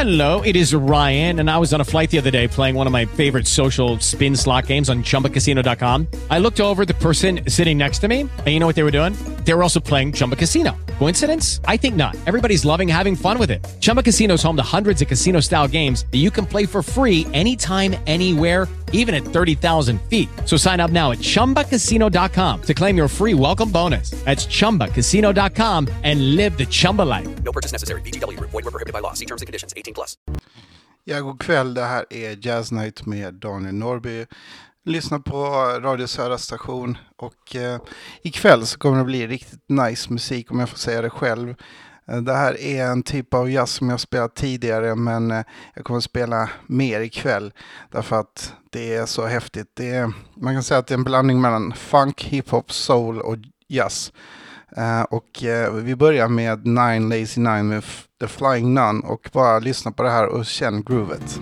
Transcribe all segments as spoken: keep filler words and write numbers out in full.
Hello, it is Ryan, and I was on a flight the other day playing one of my favorite social spin slot games on chumba casino dot com. I looked over at the person sitting next to me, and you know what they were doing? They were also playing Chumba Casino. Coincidence? I think not. Everybody's loving having fun with it. Chumba Casino is home to hundreds of casino-style games that you can play for free anytime, anywhere, even at thirty thousand feet. So sign up now at chumba casino dot com to claim your free welcome bonus. That's chumba casino dot com and live the Chumba life. No purchase necessary. V G W. Void where prohibited by law. See terms and conditions. eighteen plus. Ja, god kväll. Det här är Jazz Night med Daniel Norby. Lyssna på Radio Södra station. Och eh, ikväll så kommer det bli riktigt nice musik, om jag får säga det själv. Eh, det här är en typ av jazz som jag spelat tidigare, men eh, jag kommer att spela mer ikväll. Därför att det är så häftigt. Det är, man kan säga att det är en blandning mellan funk, hiphop, soul och jazz. Uh, och uh, vi börjar med Nine Lazy Nine med F- The Flying Nun, och bara lyssna på det här och känn groovet.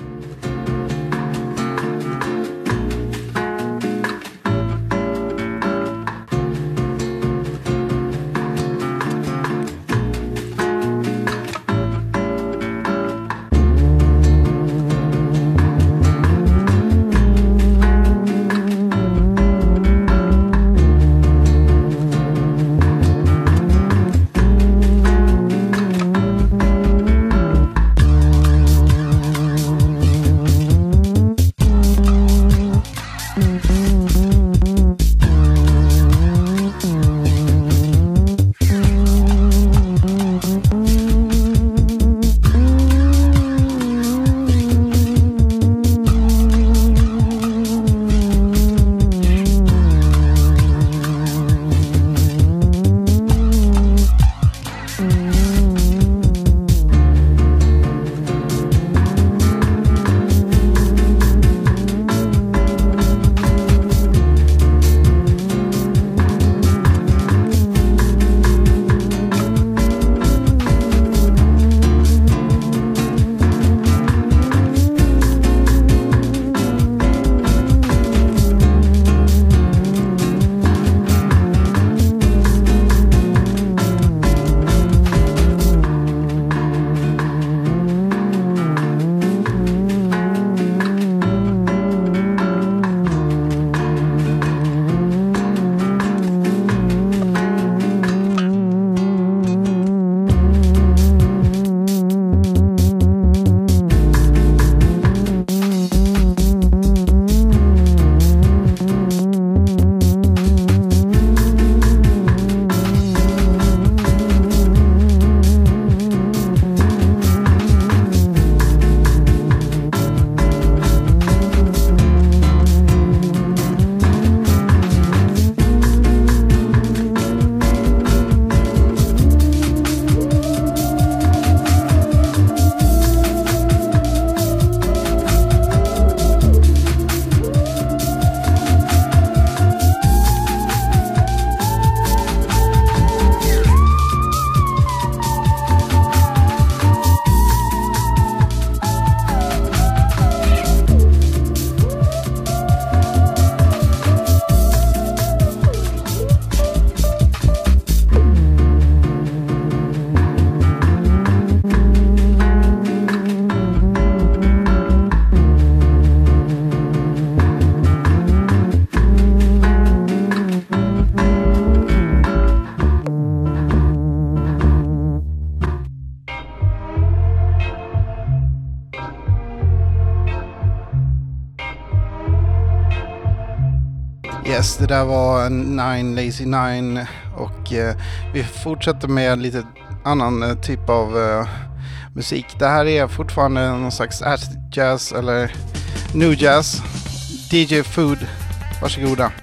Yes, det där var Nine Lazy Nine, och eh, vi fortsätter med lite annan eh, typ av eh, musik. Det här är fortfarande någon slags acid jazz eller new jazz. D J Food, varsågoda.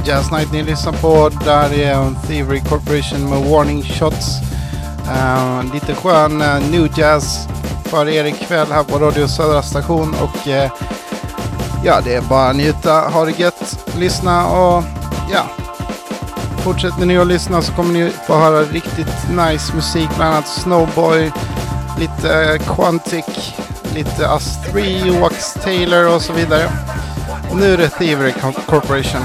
Jazz Night ni lyssnar på. Där är Thievery Corporation med Warning Shots. Uh, lite skön uh, new jazz för er ikväll här på Radio Södra station. Och uh, ja, det är bara att njuta, ha det gött, lyssna och ja. Fortsätter ni att lyssna så kommer ni få höra riktigt nice musik. Bland annat Snowboy, lite uh, Quantic, lite Us three, Wax Taylor och så vidare. Och nu är det Thievery Corporation.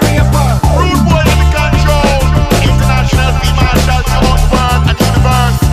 Rude boy in the control, international female shall come out world and universe.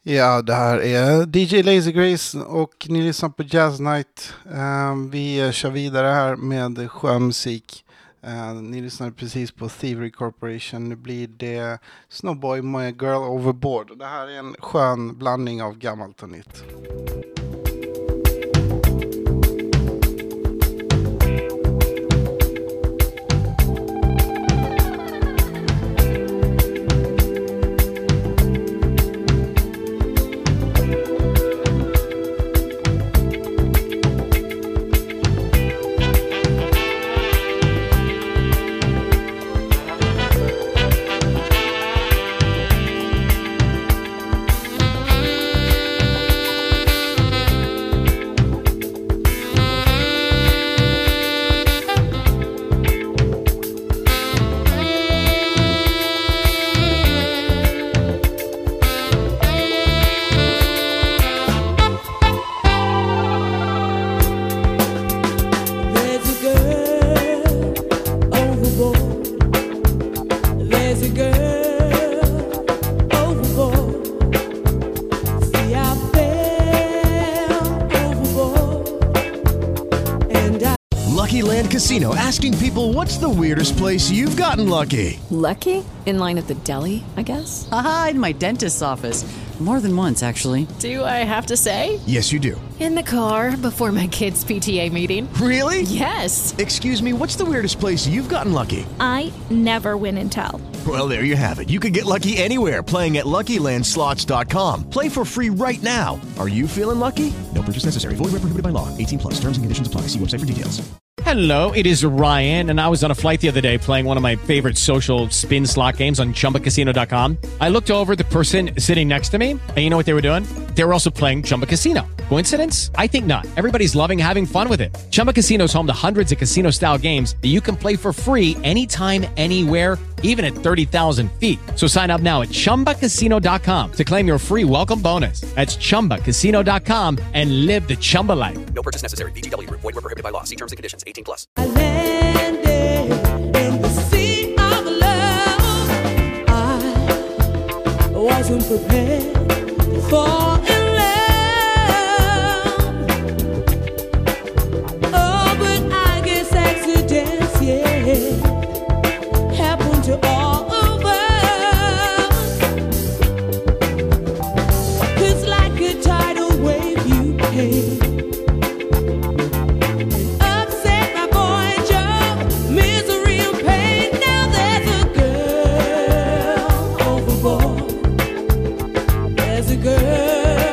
Ja, det här är D J Lazy Grace och ni lyssnar på Jazz Night. Uh, vi kör vidare här med skön musik. Uh, ni lyssnade precis på Thievery Corporation. Nu blir det Snowboy My Girl Overboard. Det här är en skön blandning av gammalt och nytt. Casino, asking people, what's the weirdest place you've gotten lucky? Lucky? In line at the deli, I guess? Aha, in my dentist's office. More than once, actually. Do I have to say? Yes, you do. In the car before my kids' P T A meeting. Really? Yes. Excuse me, what's the weirdest place you've gotten lucky? I never win and tell. Well, there you have it. You can get lucky anywhere, playing at Lucky Land Slots dot com. Play for free right now. Are you feeling lucky? No purchase necessary. Void where prohibited by law. eighteen plus. Terms and conditions apply. See website for details. Hello, it is Ryan, and I was on a flight the other day playing one of my favorite social spin slot games on Chumba Casino dot com. I looked over at the person sitting next to me, and you know what they were doing? They were also playing Chumba Casino. Coincidence? I think not. Everybody's loving having fun with it. Chumba Casino is home to hundreds of casino-style games that you can play for free anytime, anywhere, even at thirty thousand feet. So sign up now at Chumba Casino dot com to claim your free welcome bonus. That's Chumba Casino dot com and live the Chumba life. No purchase necessary. V G W. Void where prohibited by law. See terms and conditions. eighteen plus. I landed in the sea of love. I wasn't prepared to fall in love. Oh, but I guess accidents, yeah, happen to all of us. 'Cause like a tidal wave you came. Girl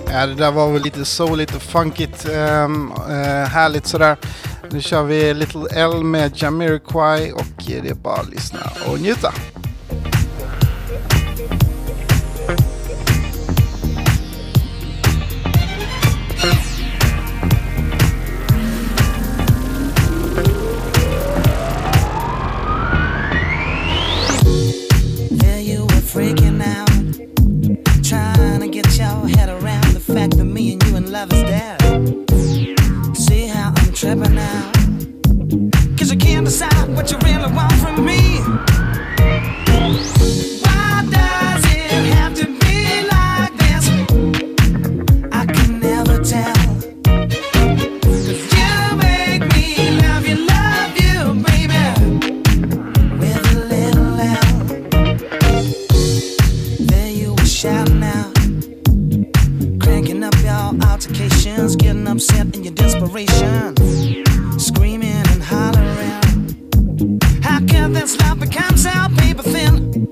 Ja, det där var väl lite soul, lite funkigt, um, uh, härligt sådär. Nu kör vi Little L med Jamiroquai och det är bara att lyssna och njuta. There you were freaking out, trying to get your head around the fact that me and you in love is dead. See how I'm tripping now, cause you can't decide what you really want from me. Why does it have to be like this? I can never tell. Cause you make me love you, love you, baby, with a little L. There you were shouting out, cranking up your altercations, getting upset in your desperation, screaming and hollering. How can this love become so paper thin?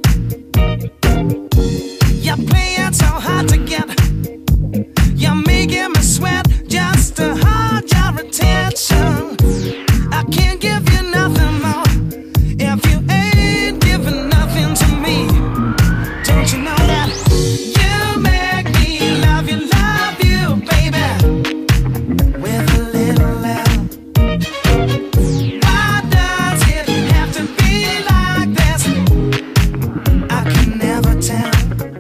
You're playing so hard to get, you're making me sweat just to hold your attention. I can't give you nothing more if you ain't giving nothing to me. Don't you know that you make me love you, love you, baby, with a little L. Why does it have to be like this? I can never tell.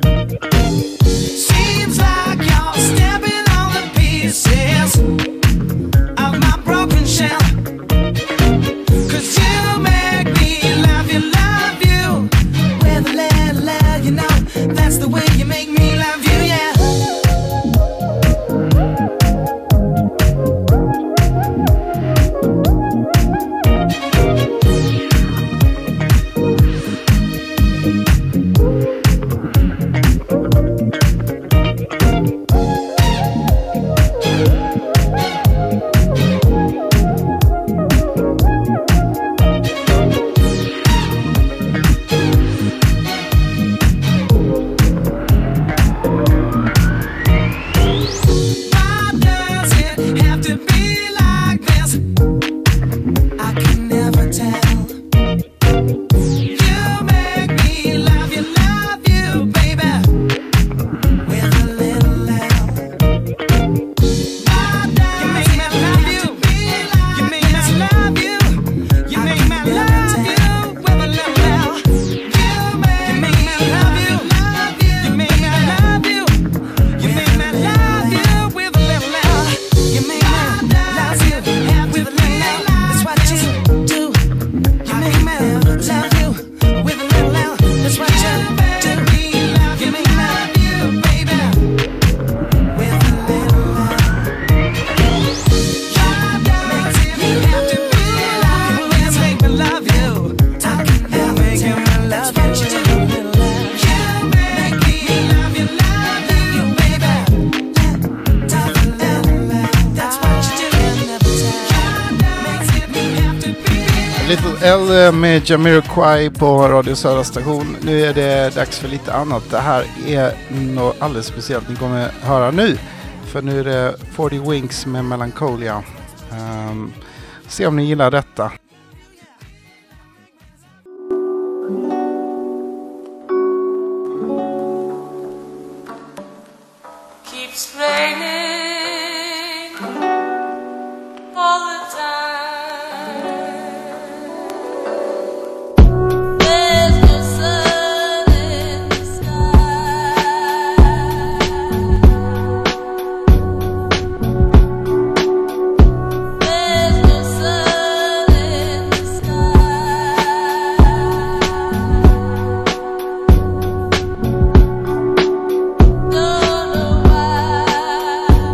Seems like you're stepping on the pieces of my broken shell. Cause you make me love you, love you, with a little L, you know, that's the way you make me love you, yeah. Why does it have to be like this? I can never tell. You make me love you, love you, baby, with a little L. Why does you make me love you? You make me love you. You make me love you with a little L. You make me love you, love you. You make me love you. You make me love you with a little L. You make me love you with a little L. That's what you do. You make me love you with a little L. That's what you do. You make me love you, baby, with a little L. Why does it have to be like this? Make me love you. I can never tell. That's what you do, little L. You make me love you, love you, baby. That's what you do. Never tell. Makes it have to be. Little L med Jamiroquai på Radio Södra station. Nu är det dags för lite annat. Det här är något alldeles speciellt ni kommer höra nu. För nu är det fyrtio Winks med Melancholia. Um, se om ni gillar detta. Keeps raining all the time. There's no sun in the sky. There's no sun in the sky. Don't know why.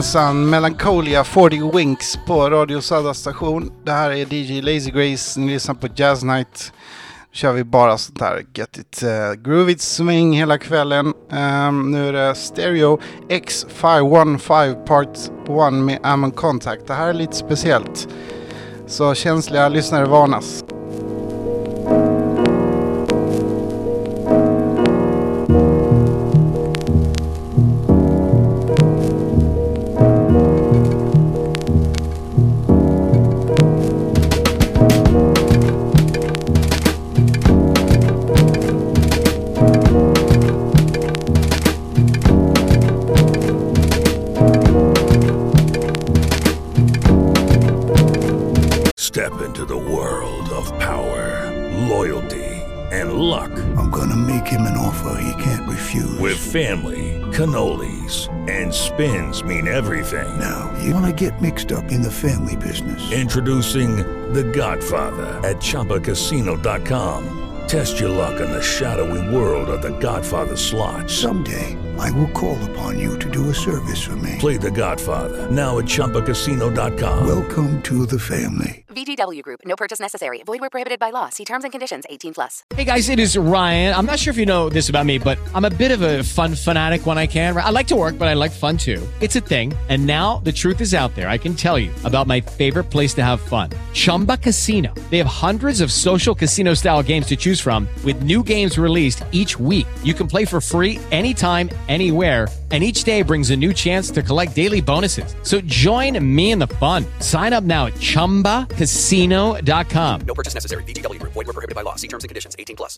Jajamensan, Melancholia fyrtio Winks på Radio Södra station. Det här är D J Lazy Grace, ni lyssnar på Jazz Night. Nu kör vi bara sånt här get it uh, groovy swing hela kvällen. Um, nu är det Stereo X fem femton Part ett med Amon Contact. Det här är lite speciellt, så känsliga lyssnare varnas. Step into the world of power, loyalty, and luck. I'm gonna make him an offer he can't refuse. With family, cannolis, and spins mean everything. Now, you wanna get mixed up in the family business. Introducing The Godfather at Chumba Casino dot com. Test your luck in the shadowy world of The Godfather slot. Someday, I will call upon you to do a service for me. Play The Godfather, now at Chumba Casino dot com. Welcome to the family. V G W Group. No purchase necessary. Void where prohibited by law. See terms and conditions. eighteen plus. Hey guys, it is Ryan. I'm not sure if you know this about me, but I'm a bit of a fun fanatic when I can. I like to work, but I like fun too. It's a thing. And now the truth is out there. I can tell you about my favorite place to have fun. Chumba Casino. They have hundreds of social casino style games to choose from with new games released each week. You can play for free anytime, anywhere. And each day brings a new chance to collect daily bonuses. So join me in the fun. Sign up now at Chumba Casino dot com. No purchase necessary. V G W Group. Void where prohibited by law. See terms and conditions. eighteen plus.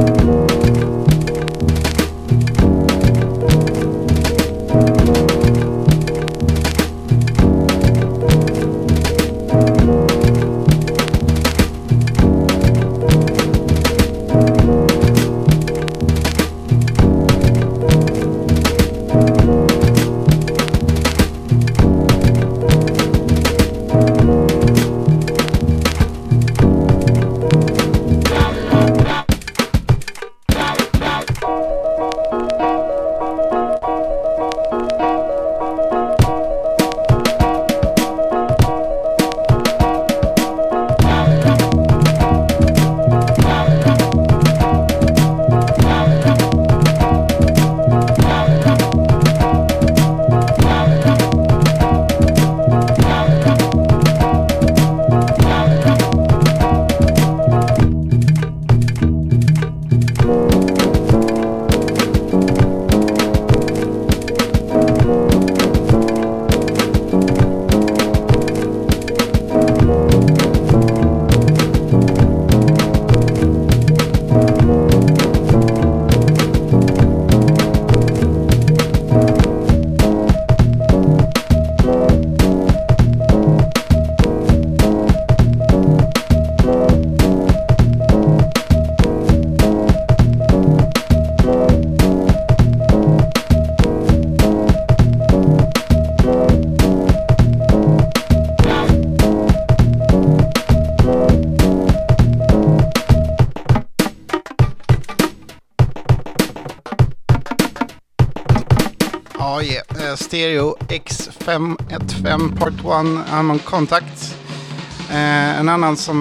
Ja, yeah. Stereo X fem fem Part ett Amon Contact. Eh, en annan som,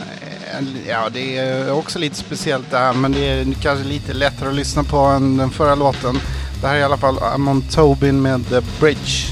eh, ja, det är också lite speciellt där, men det är kanske lite lättare att lyssna på än den förra låten. Det här är i alla fall Amon Tobin med The Bridge.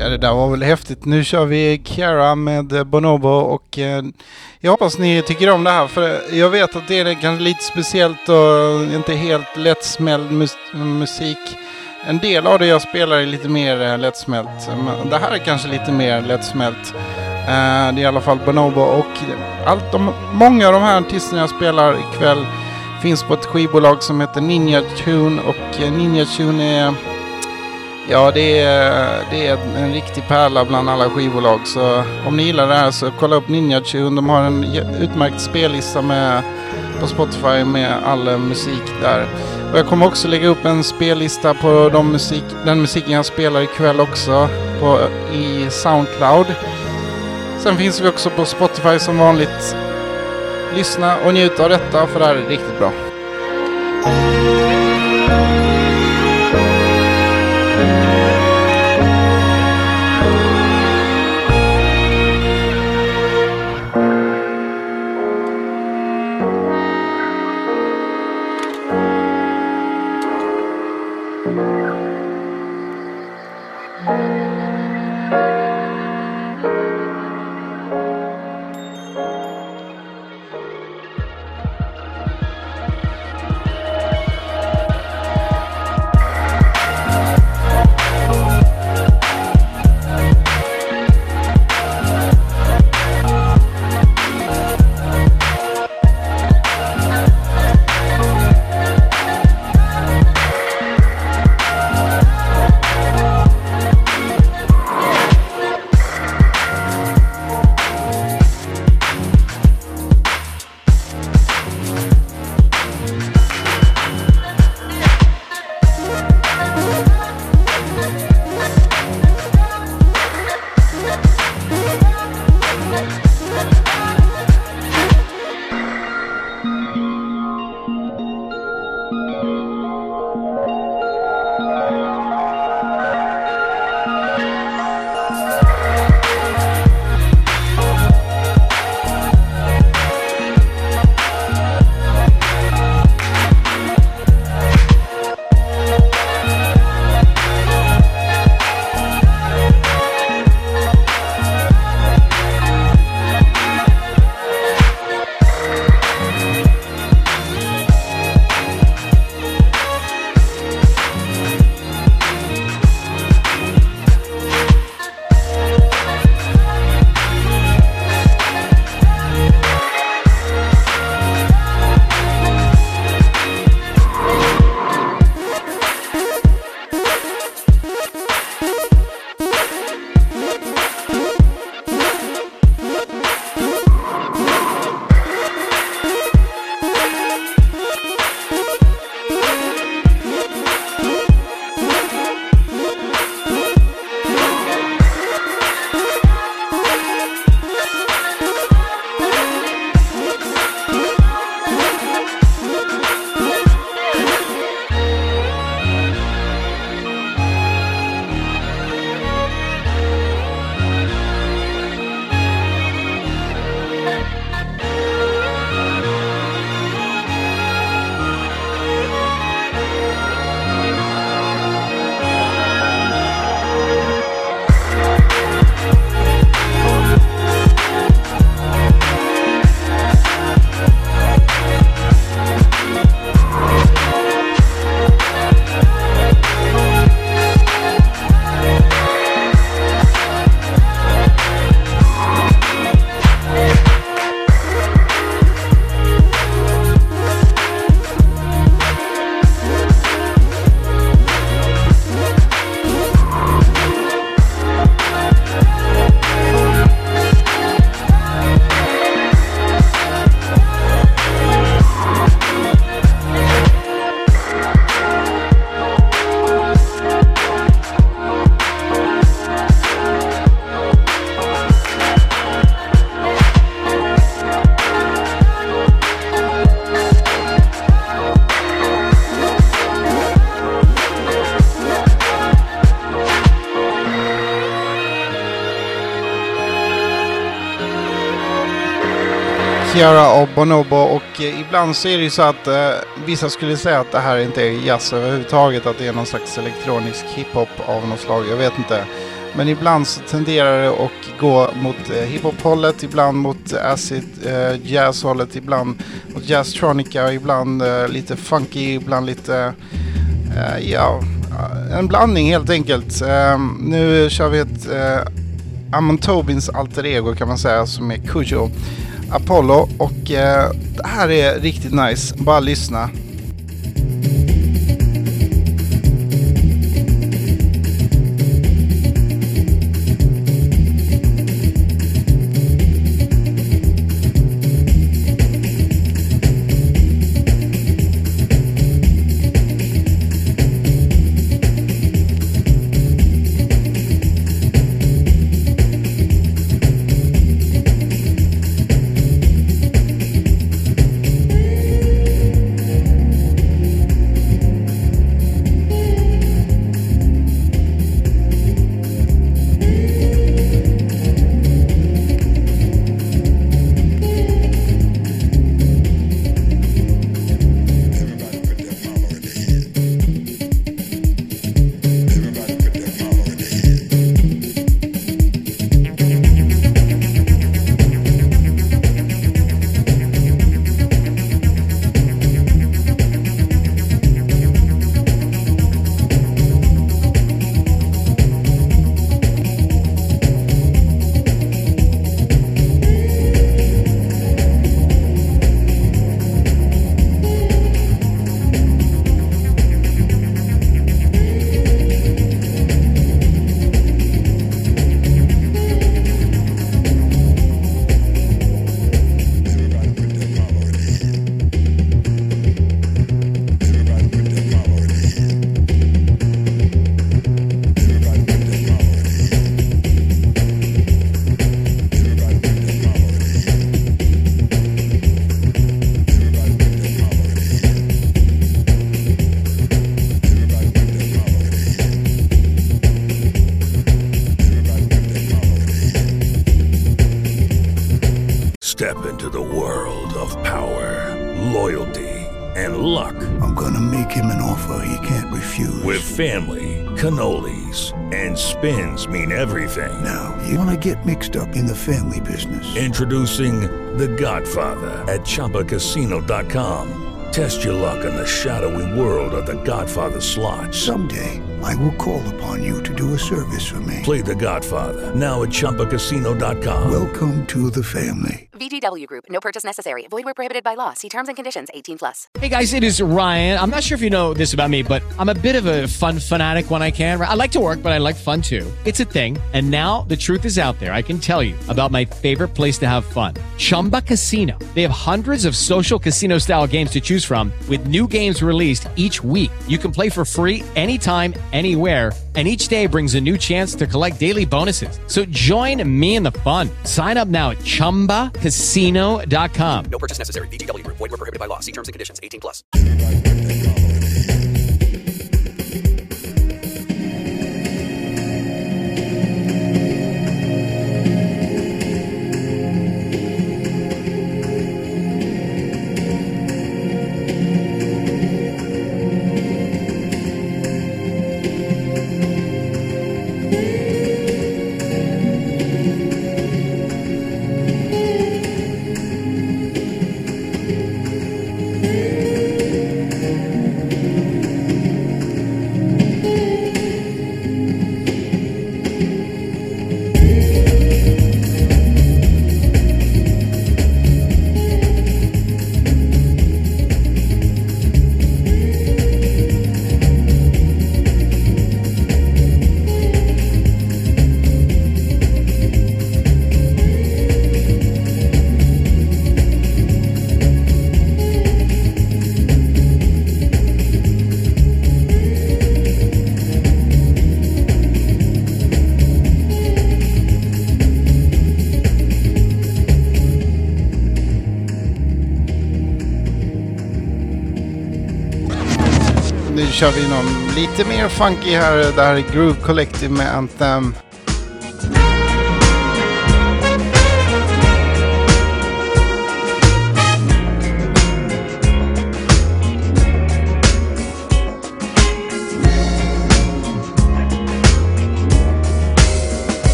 Ja, det där var väl häftigt. Nu kör vi Ciara med Bonobo och eh, jag hoppas ni tycker om det här, för jag vet att det är kanske lite speciellt och inte helt lättsmält mus- musik. En del av det jag spelar är lite mer eh, lättsmält, men det här är kanske lite mer lättsmält. Eh, det är i alla fall Bonobo och allt de, många av de här artisterna jag spelar ikväll finns på ett skivbolag som heter Ninja Tune, och eh, Ninja Tune är... Ja, det är, det är en riktig pärla bland alla skivbolag. Så om ni gillar det här så kolla upp Ninja Tune. De har en utmärkt spellista med, på Spotify med all musik där. Och jag kommer också lägga upp en spellista på de musik, den musiken jag spelar ikväll också på, i Soundcloud. Sen finns vi också på Spotify som vanligt. Lyssna och njut av detta, för det här är riktigt bra. Ciara och Bonobo, och eh, ibland så är det ju så att eh, vissa skulle säga att det här inte är jazz överhuvudtaget, att det är någon slags elektronisk hiphop av något slag, jag vet inte. Men ibland så tenderar det att gå mot eh, hiphop-hållet, ibland mot acid eh, jazz-hållet, ibland mot jazztronica, ibland eh, lite funky, ibland lite, eh, ja, en blandning helt enkelt. Eh, nu kör vi ett eh, Amon Tobins alter ego kan man säga, som är Kujo Apollo, och eh, det här är riktigt nice, bara lyssna. Step into the world of power, loyalty, and luck. I'm gonna make him an offer he can't refuse. With family, cannolis, and spins mean everything. Now, you wanna get mixed up in the family business. Introducing The Godfather at Chumba Casino dot com. Test your luck in the shadowy world of The Godfather slot. Someday, I will call upon you to do a service for me. Play The Godfather now at Chumba Casino dot com. Welcome to the family. V G W Group. No purchase necessary. Void where prohibited by law. See terms and conditions. eighteen plus. Hey guys, it is Ryan. I'm not sure if you know this about me, but I'm a bit of a fun fanatic when I can. I like to work, but I like fun too. It's a thing. And now the truth is out there. I can tell you about my favorite place to have fun. Chumba Casino. They have hundreds of social casino style games to choose from with new games released each week. You can play for free anytime, anywhere. And each day brings a new chance to collect daily bonuses. So join me in the fun. Sign up now at Chumba Casino dot com. No purchase necessary. V G W Group. Void where prohibited by law. See terms and conditions. eighteen plus. Nu kör vi någon lite mer funky här. Det här är Groove Collective med Anthem.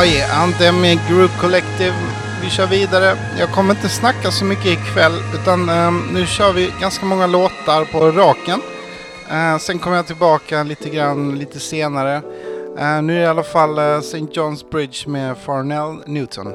Oj, Anthem med Group Collective. Vi kör vidare. Jag kommer inte snacka så mycket ikväll, utan um, nu kör vi ganska många låtar på raken. Uh, sen kommer jag tillbaka lite grann lite senare. Uh, nu är det i alla fall uh, Saint John's Bridge med Farnell Newton.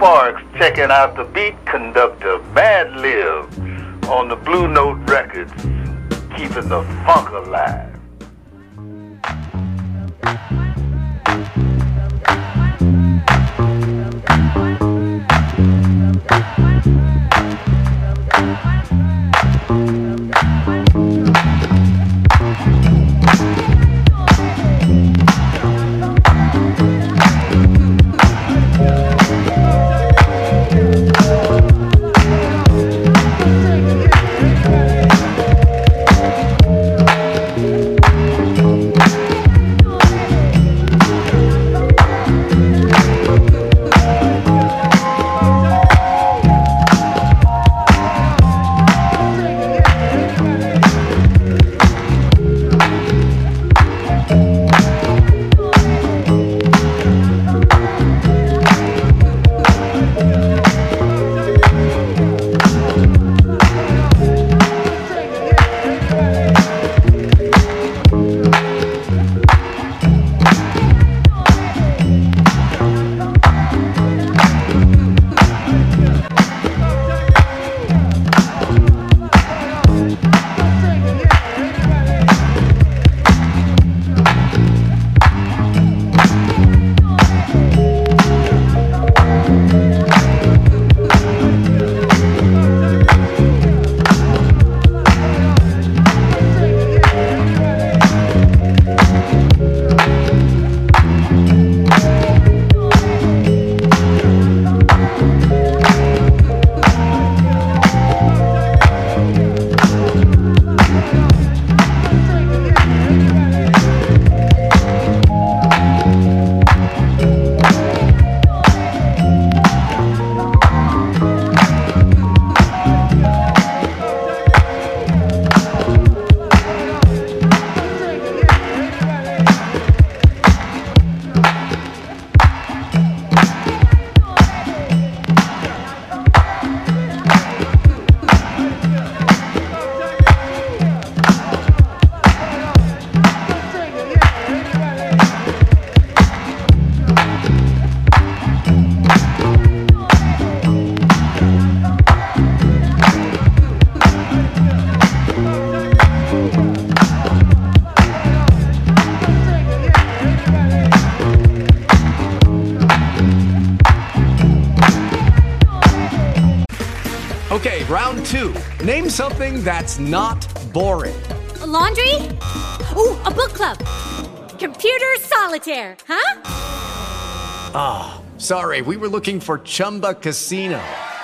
Sparks checking out the beat conductor Madlib on the Blue Note Records, keeping the funk alive. Okay, round two. Name something that's not boring. A laundry? Ooh, a book club. Computer solitaire, huh? Ah, oh, sorry, we were looking for Chumba Casino.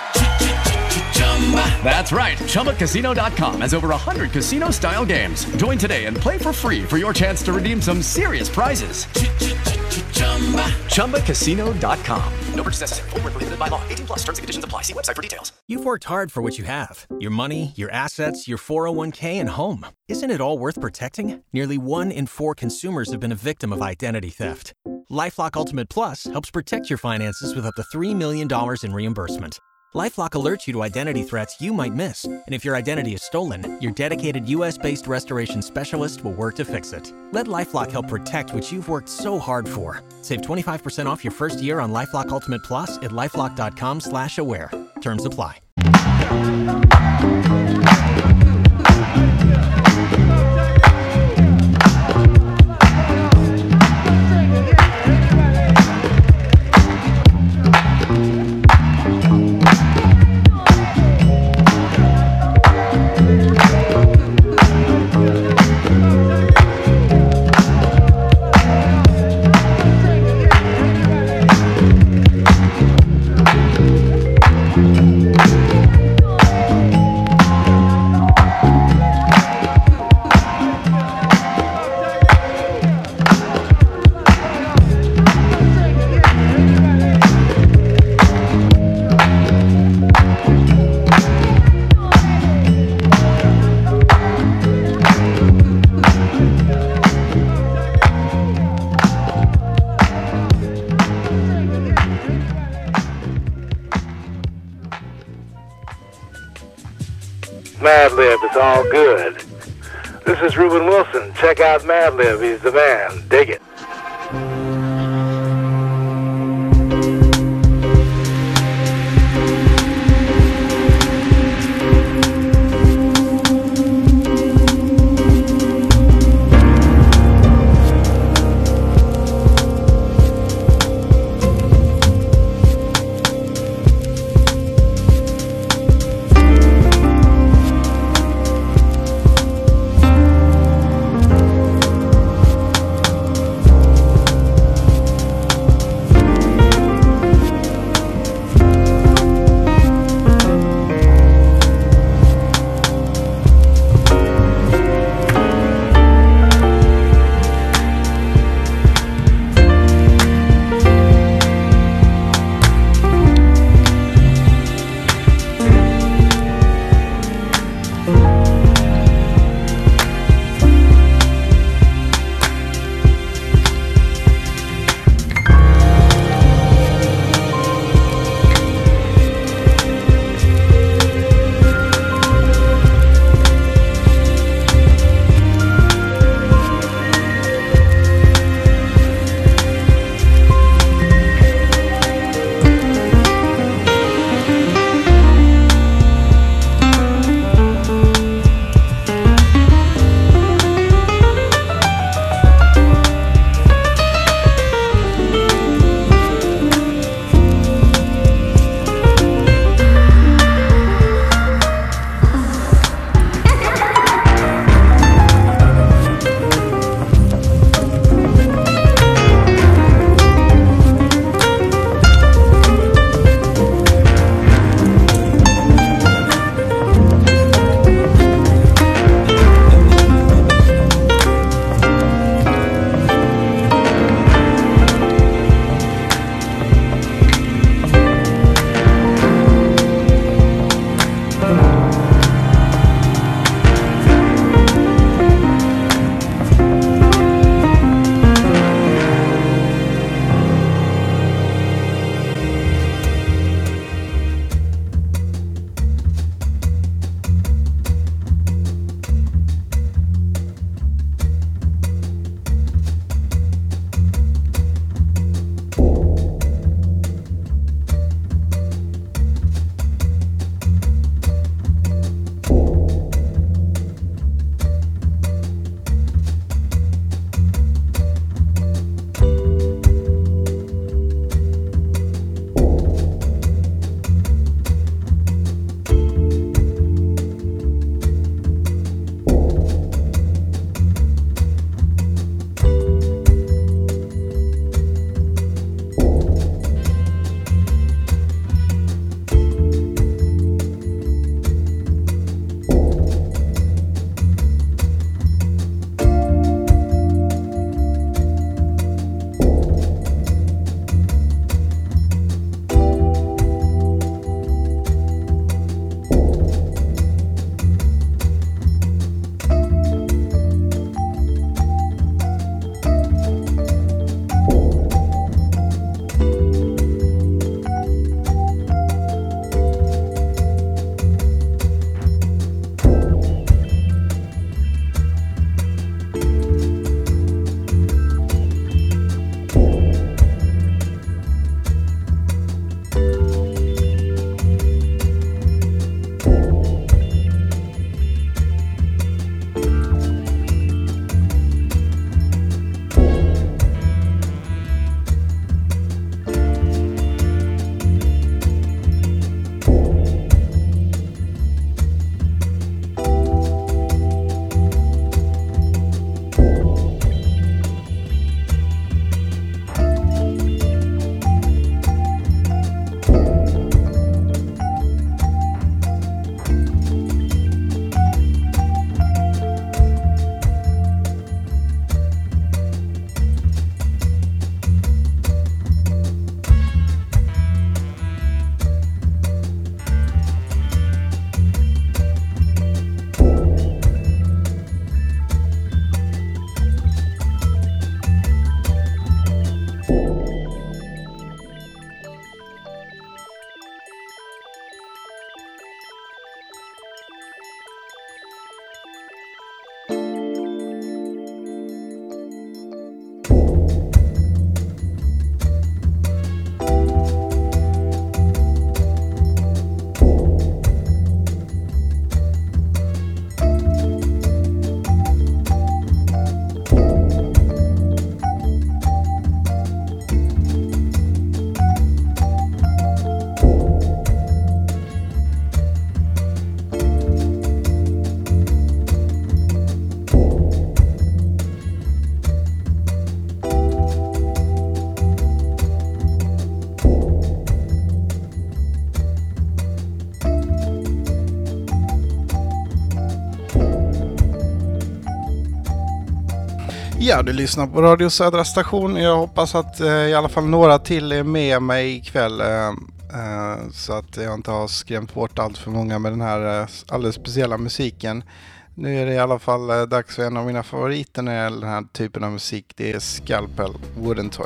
That's right, Chumba Casino dot com has over one hundred casino-style games. Join today and play for free for your chance to redeem some serious prizes. Chumba Casino dot com. No purchase necessary. Void where prohibited by law. eighteen plus. Terms and conditions apply. See website for details. You've worked hard for what you have. Your money, your assets, your four oh one k, and home. Isn't it all worth protecting? Nearly one in four consumers have been a victim of identity theft. LifeLock Ultimate Plus helps protect your finances with up to three million dollars in reimbursement. LifeLock alerts you to identity threats you might miss. And if your identity is stolen, your dedicated U S-based restoration specialist will work to fix it. Let LifeLock help protect what you've worked so hard for. Save twenty-five percent off your first year on LifeLock Ultimate Plus at LifeLock dot com slash aware. Terms apply. Madlib, it's all good. This is Reuben Wilson. Check out Madlib. He's the man. Dig it. Ja, du lyssnar på Radio Södra Station. Jag hoppas att eh, i alla fall några till är med mig ikväll. Eh, eh, så att jag inte har skrämt bort allt för många med den här eh, alldeles speciella musiken. Nu är det i alla fall eh, dags för en av mina favoriter när det gäller den här typen av musik. Det är Scalpel, Wooden Toy.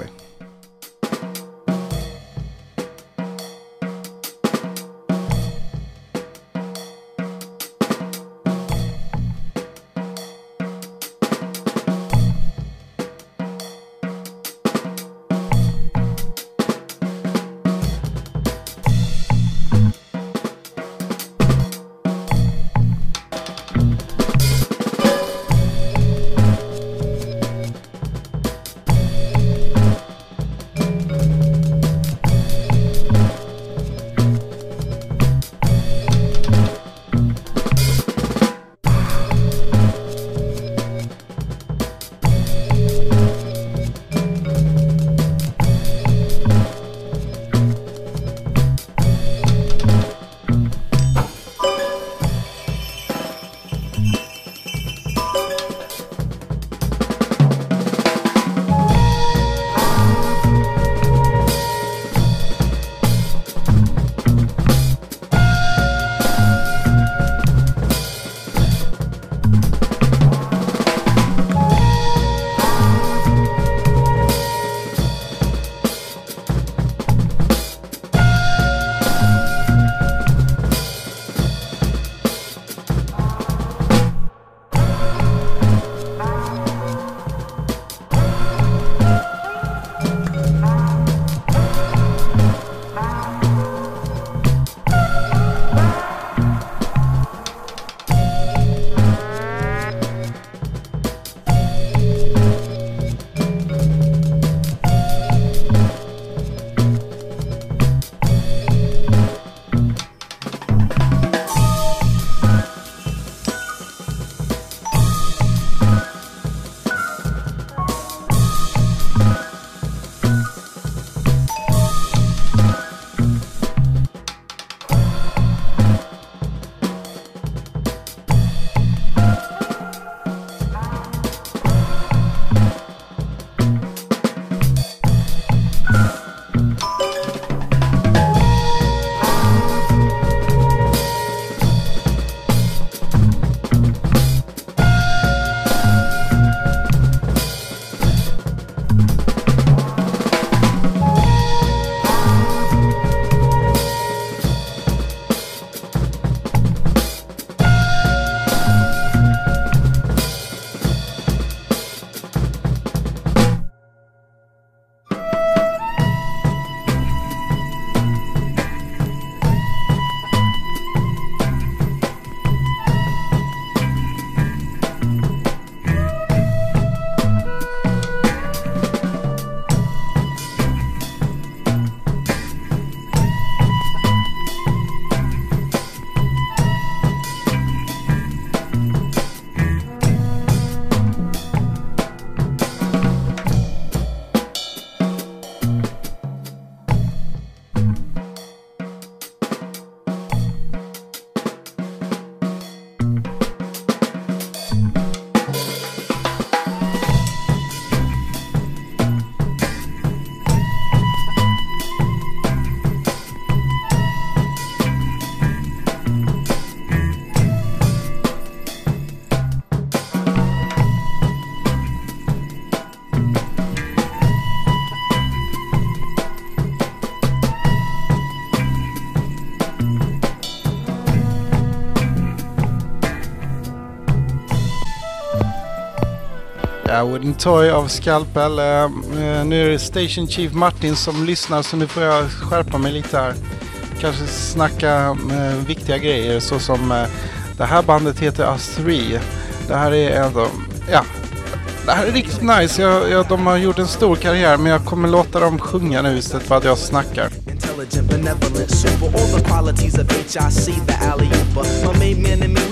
Ja, Wooden Toy av Scalpel. Uh, nu är det Station Chief Martin som lyssnar, så nu får jag skärpa mig lite här. Kanske snacka uh, viktiga grejer, så som uh, det här bandet heter Us Three. Det här är ändå, ja, det här är riktigt nice. Jag, jag, de har gjort en stor karriär, men jag kommer låta dem sjunga nu istället för att jag snackar. Intelligent, benevolent, super, all the qualities of H I C, the alley-ooper. My main man and me, we've been cool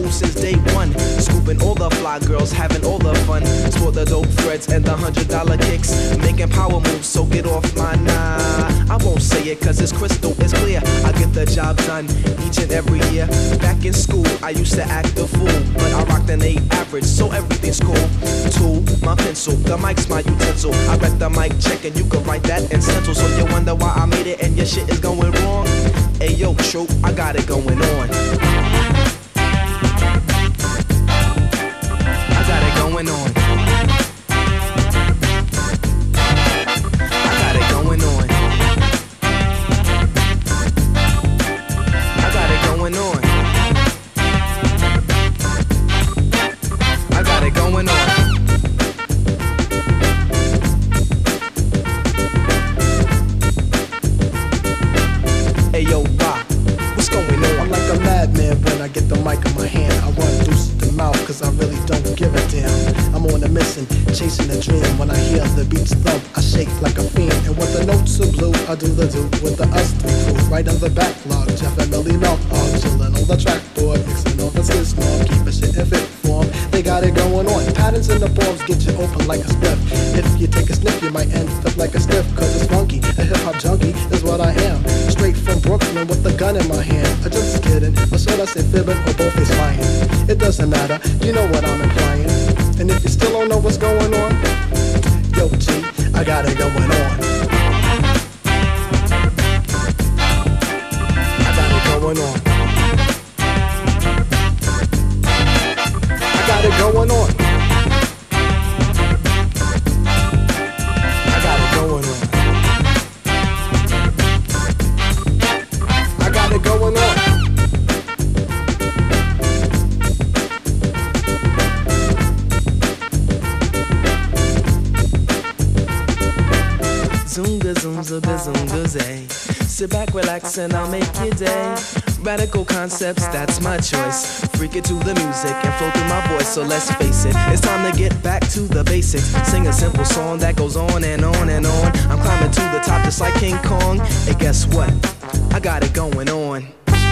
school since day one. Scooping all the fly girls, having all the fun. Sport the dope threads and the hundred dollar kicks. Making power moves, so get off my nah. I won't say it cause it's crystal, it's clear. I get the job done each and every year. Back in school, I used to act a fool, but I rocked an eight average, so everything's cool. Tool, my pencil, the mic's my utensil. I read the mic check and you can write that in stencil. So you wonder why I made it and your shit is going wrong. Hey yo, true, I got it going on. I got it going on. I got it going on. I got it going on. I got it going on. Hey yo, Rock, what's going on? I'm like a madman when I get the mic in my hand. I run loose the mouth cause I really don't give a damn. I'm on a mission, chasing a dream. When I hear the beats thump, I shake like a fiend. And when the notes are blue, I do the do with the us three crew. Right on the backlog, Jeff and Millie Mouth are chillin' on the trackboard, mixing all the system, keep a shit in fit form. They got it going on. Patterns in the forms get you open like a spliff. If you take a sniff, you might end up like a stiff. Cause it's funky, a hip hop junkie is what I am. Straight from Brooklyn with the gun in my hand. I just kidding, or should I say fibbing, or both is lying? It doesn't matter, you know what I'm implying. And if you still don't know what's going on, yo G, I got it going on. I got it going on. I got it going on. I got it going on. I got it going on. Zoomga zoomza bizoomga zay. Sit back, relax, and I'll make your day. Radical concepts, that's my choice. Freak it to the music and flow through my voice. So let's face it, it's time to get back to the basics. Sing a simple song that goes on and on and on. I'm climbing to the top just like King Kong. And guess what? I got it going on.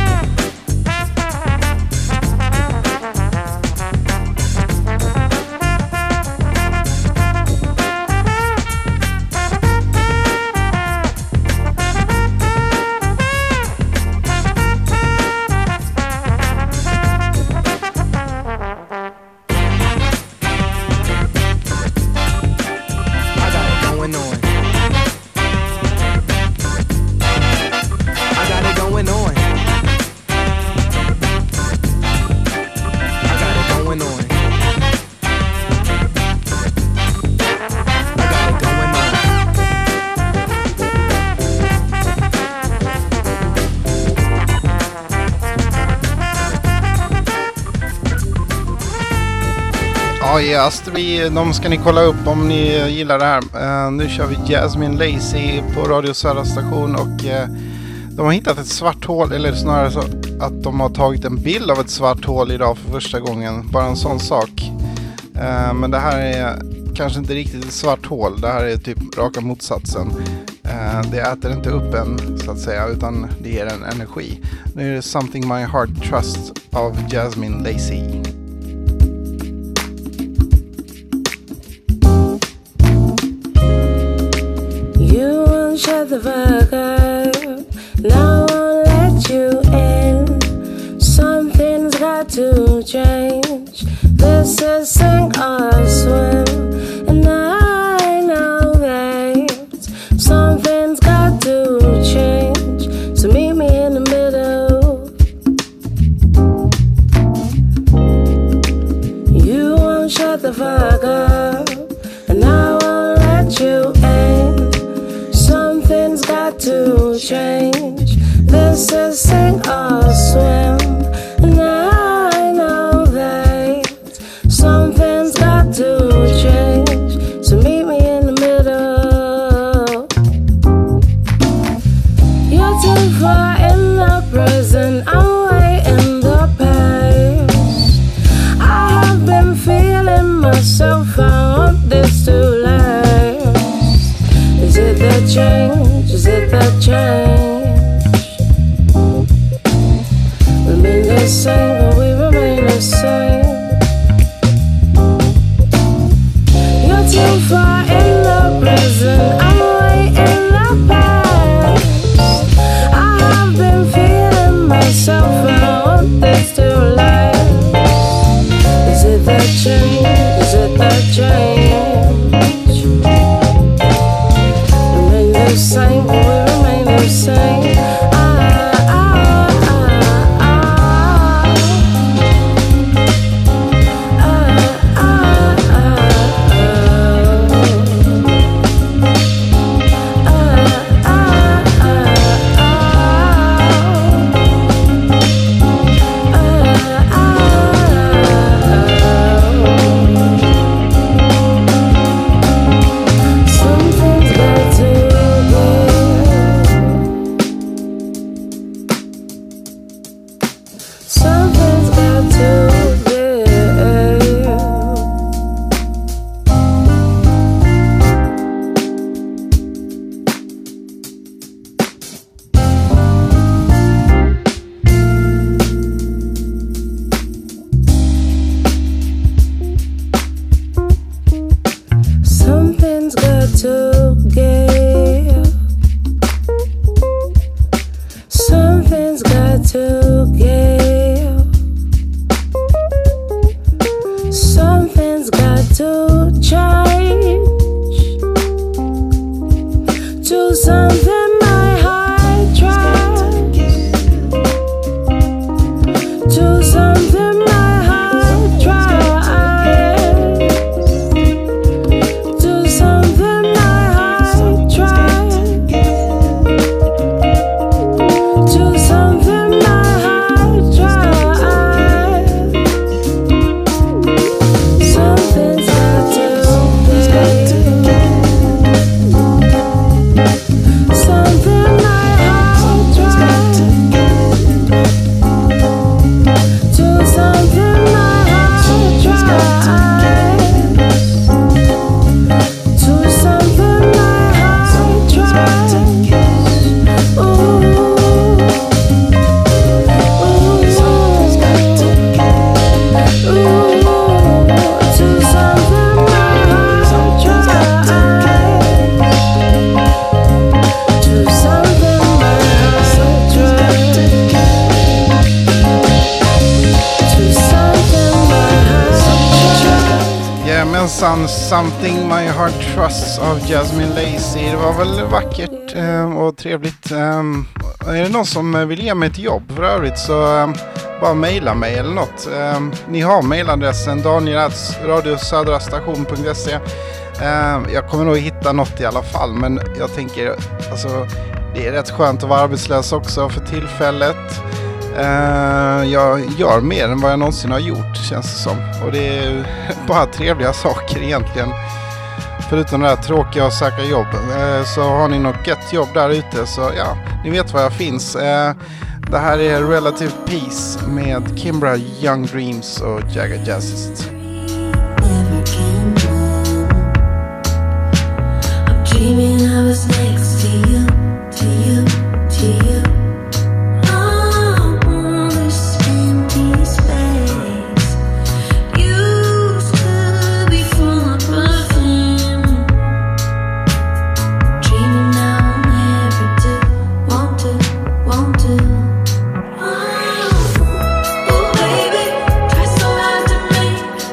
Ja, yes, vi, de ska ni kolla upp om ni gillar det här. Uh, nu kör vi Jasmine Lacey på Radio Södra station och uh, de har hittat ett svart hål, eller snarare så att de har tagit en bild av ett svart hål idag för första gången. Bara en sån sak. Uh, men det här är kanske inte riktigt ett svart hål. Det här är typ raka motsatsen. Uh, det äter inte upp en så att säga, utan det ger en energi. Nu är det Something My Heart Trusts av Jasmine Lacey. Shut the fuck up, now I won't let you in. Something's got to change. This is sink or swim, and I know that something's got to change. So meet me in the middle. You won't shut the fuck up, and I won't let you in. Something's got to change. This is sink or swim, and I know that something's got to change. So meet me in the middle. You're too far in the present, I'm way in the past. I have been feeling myself, I want this to last. Is it the change? Is it the change? to give. Something's got to give. Something's got to change to something my heart tries, to something my heart tries, to something my heart tries, to something my heart tries. Something's got to something my heart tries, to something my heart tries, to something my heart tries. Ooh, ooh, something's got to ooh, to something my heart tries, to something my heart tries, to something my heart tries. Jajamensan, Something My Heart Trusts av Jasmine Lacey. Det var väl vackert eh, och trevligt. Eh, är det någon som vill ge mig ett jobb för övrigt så eh, bara mejla mig eller något. Eh, ni har mejladressen daniel at radiosödrastation punkt se. eh, Jag kommer nog hitta något i alla fall, men jag tänker alltså, det är rätt skönt att vara arbetslös också för tillfället. Uh, jag gör mer än vad jag någonsin har gjort, känns det som. Och det är bara trevliga saker egentligen. Förutom det här tråkiga att söka jobb. Uh, så har ni något gött jobb där ute så ja, ni vet var jag finns. Uh, det här är Relative Peace med Kimbra, Young Dreams och Jagger Jazzist. I'm dreaming I was next to you, to you, to you. Oh, baby, try so hard to make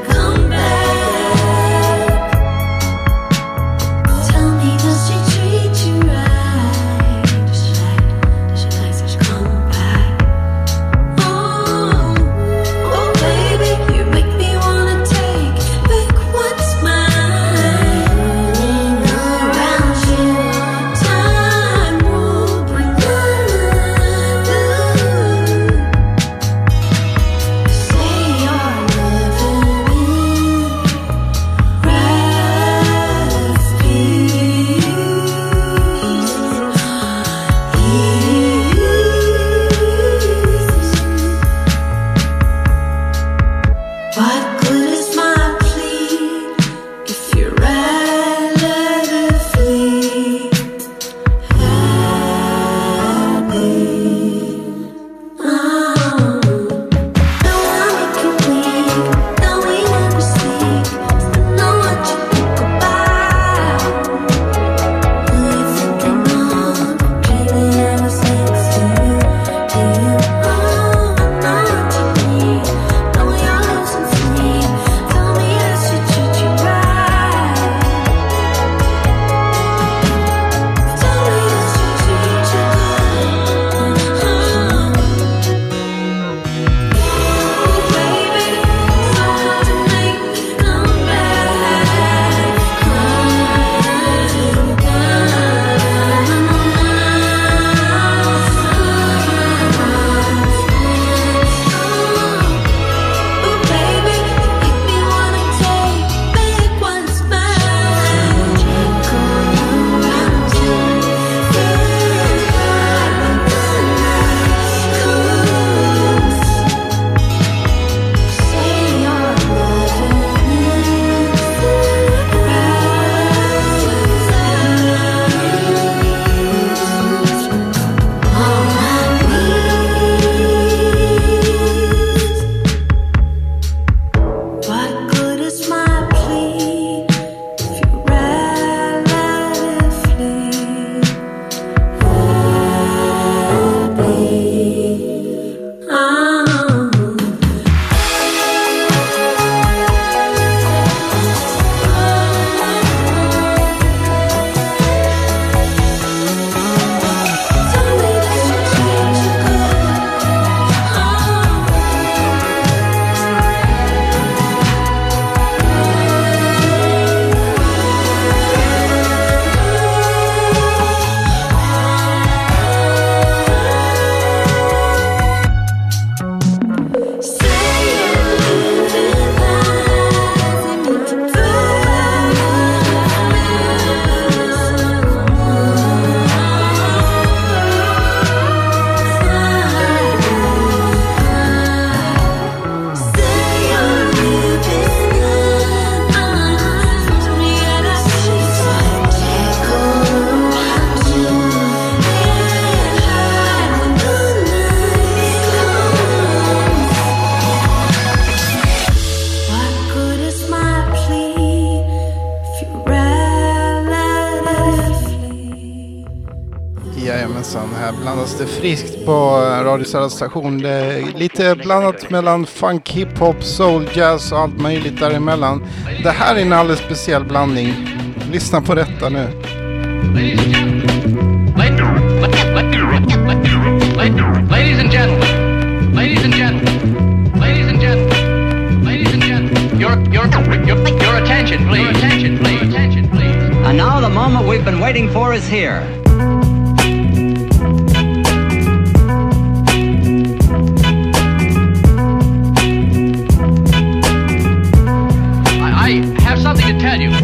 nästan. Här blandas det friskt på Radio Södra station. Det är lite blandat mellan funk, hiphop, soul, jazz och allt möjligt däremellan. Det här är en alldeles speciell blandning. Lyssna på detta nu. Ladies and gentlemen, ladies and gentlemen, ladies and gentlemen, ladies and gentlemen, your, your, your, your attention, please, your attention, please, attention, please. And now the moment we've been waiting for is here. I, I have something to tell you.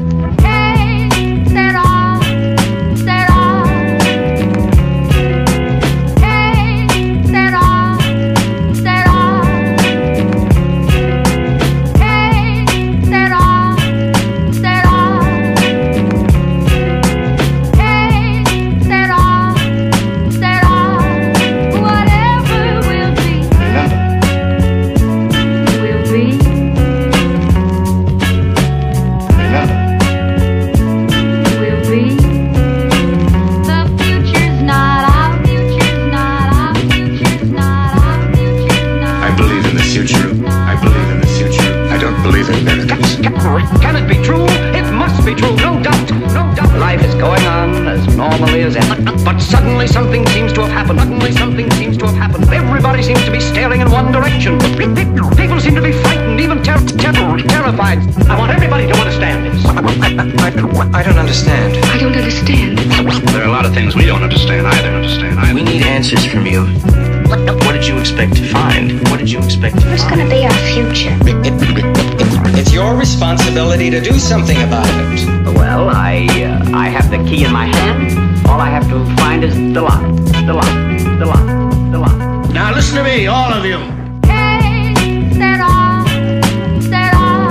Can it be true? It must be true, no doubt, no doubt. Life is going on as normally as ever. But suddenly something seems to have happened. Suddenly something seems to have happened. Everybody seems to be staring in one direction. People seem to be frightened, even ter ter terrified. I want everybody to understand this. I, I, I, I don't understand. I don't understand. There are a lot of things we don't understand either. Understand either. We need answers from you. What did you expect to find? What did you expect to Who's find? going to be our future? It's your responsibility to do something about it. Well, I uh, I have the key in my hand. All I have to find is the lock. The lock. The lock. The lock. Now listen to me, all of you. Hey, set off, set off.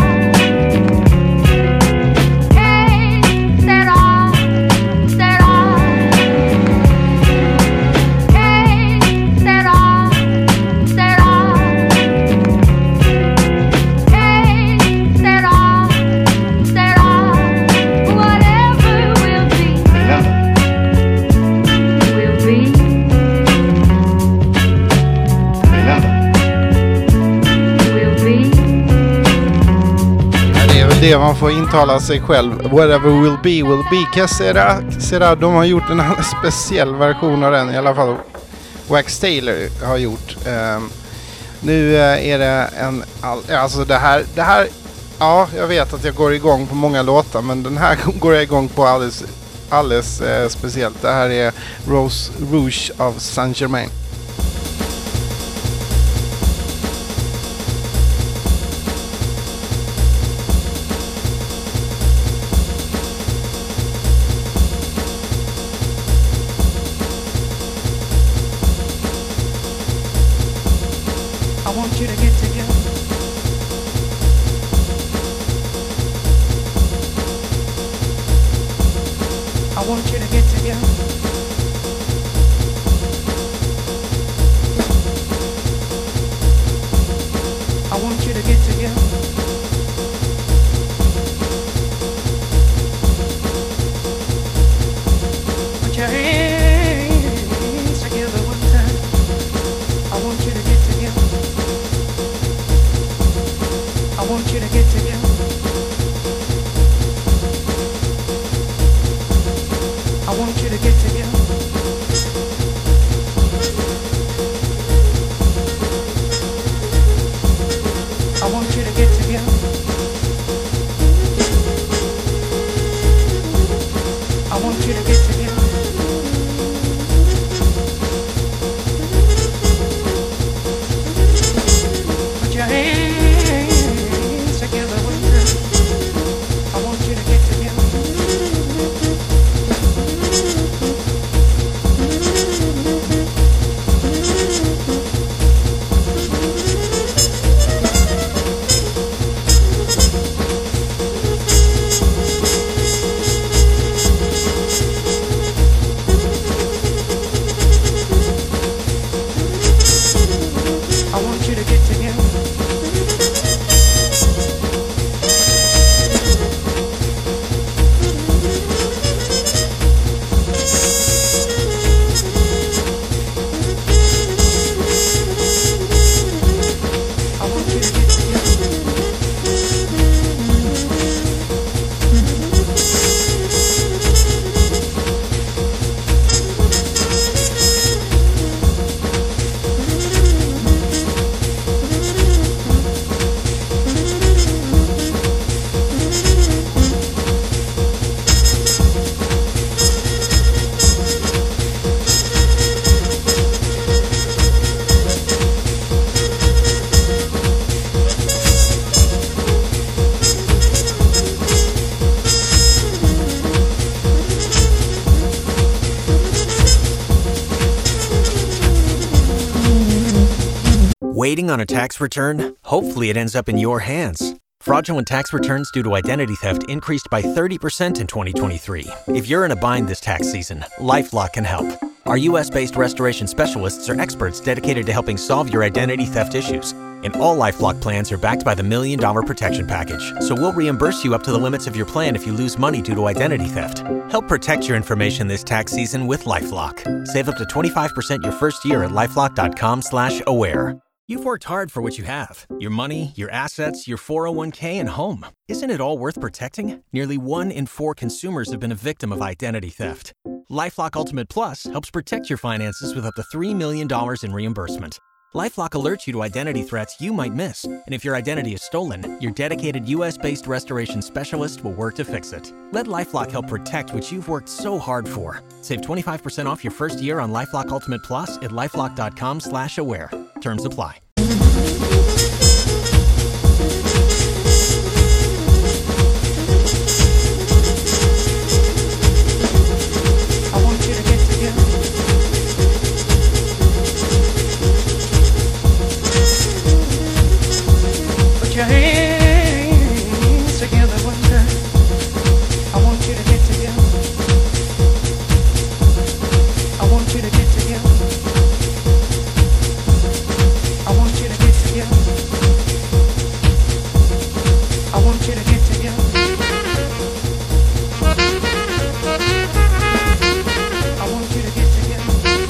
Hey, set off, set off. Hey, set off, set off. Hey, set off, set off. Whatever will be, will be. Det är väl det man får intala sig själv. Whatever will be, will be. Cassera, Cassera, de har gjort en annan speciell version av den. I alla fall Wax Taylor har gjort. Um, nu uh, är det en... All, alltså det här, det här... Ja, jag vet att jag går igång på många låtar. Men den här går jag igång på alldeles, alldeles uh, speciellt. Det här är Rose Rouge av Saint Germain. I want you to get together. I want you to get together. I want you to get together. Put your hands together one time. I want you to get together. I want you to get together. I want you to get together. I want you to get together. I want you to get together. Put your hands together one time. I want you to get together. Waiting on a tax return? Hopefully it ends up in your hands. Fraudulent tax returns due to identity theft increased by thirty percent in twenty twenty-three. If you're in a bind this tax season, LifeLock can help. Our U S-based restoration specialists are experts dedicated to helping solve your identity theft issues. And all LifeLock plans are backed by the Million Dollar Protection Package. So we'll reimburse you up to the limits of your plan if you lose money due to identity theft. Help protect your information this tax season with LifeLock. Save up to twenty-five percent your first year at LifeLock.com slash aware. You've worked hard for what you have. Your money, your assets, your four oh one k, and home. Isn't it all worth protecting? Nearly one in four consumers have been a victim of identity theft. LifeLock Ultimate Plus helps protect your finances with up to three million dollars in reimbursement. LifeLock alerts you to identity threats you might miss. And if your identity is stolen, your dedicated U S-based restoration specialist will work to fix it. Let LifeLock help protect what you've worked so hard for. Save twenty-five percent off your first year on LifeLock Ultimate Plus at LifeLock.com slash aware. Terms apply. Your hands together one time. I want you to get together. I want you to get together. I want you to get together. I want you to get together. I want you to get together.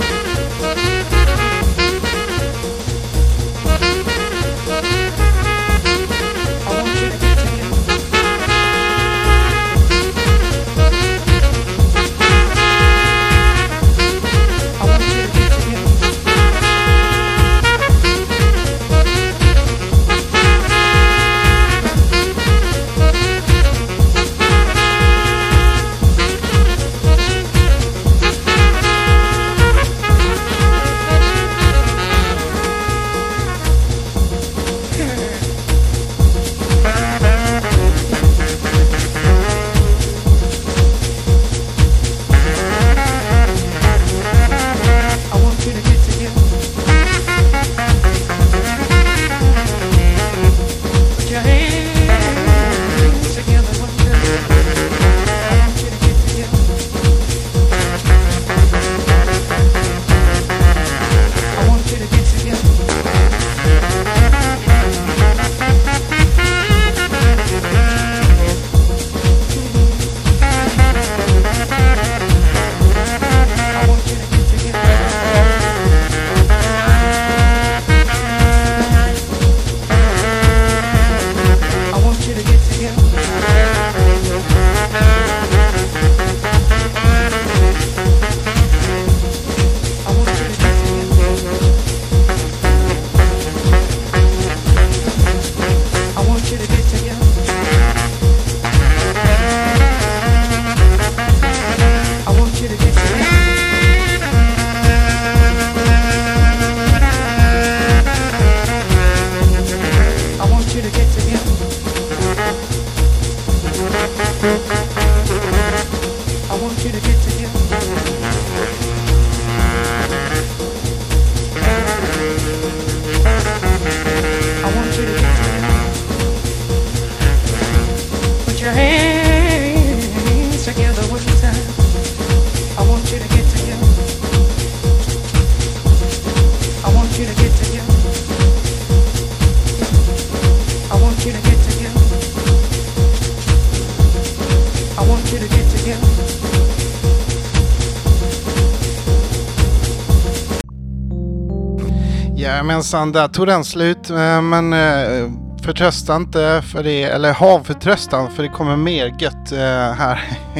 Jajamensan, där tog den slut, men förtrösta inte för det, eller ha förtröstan för det kommer mer gött här.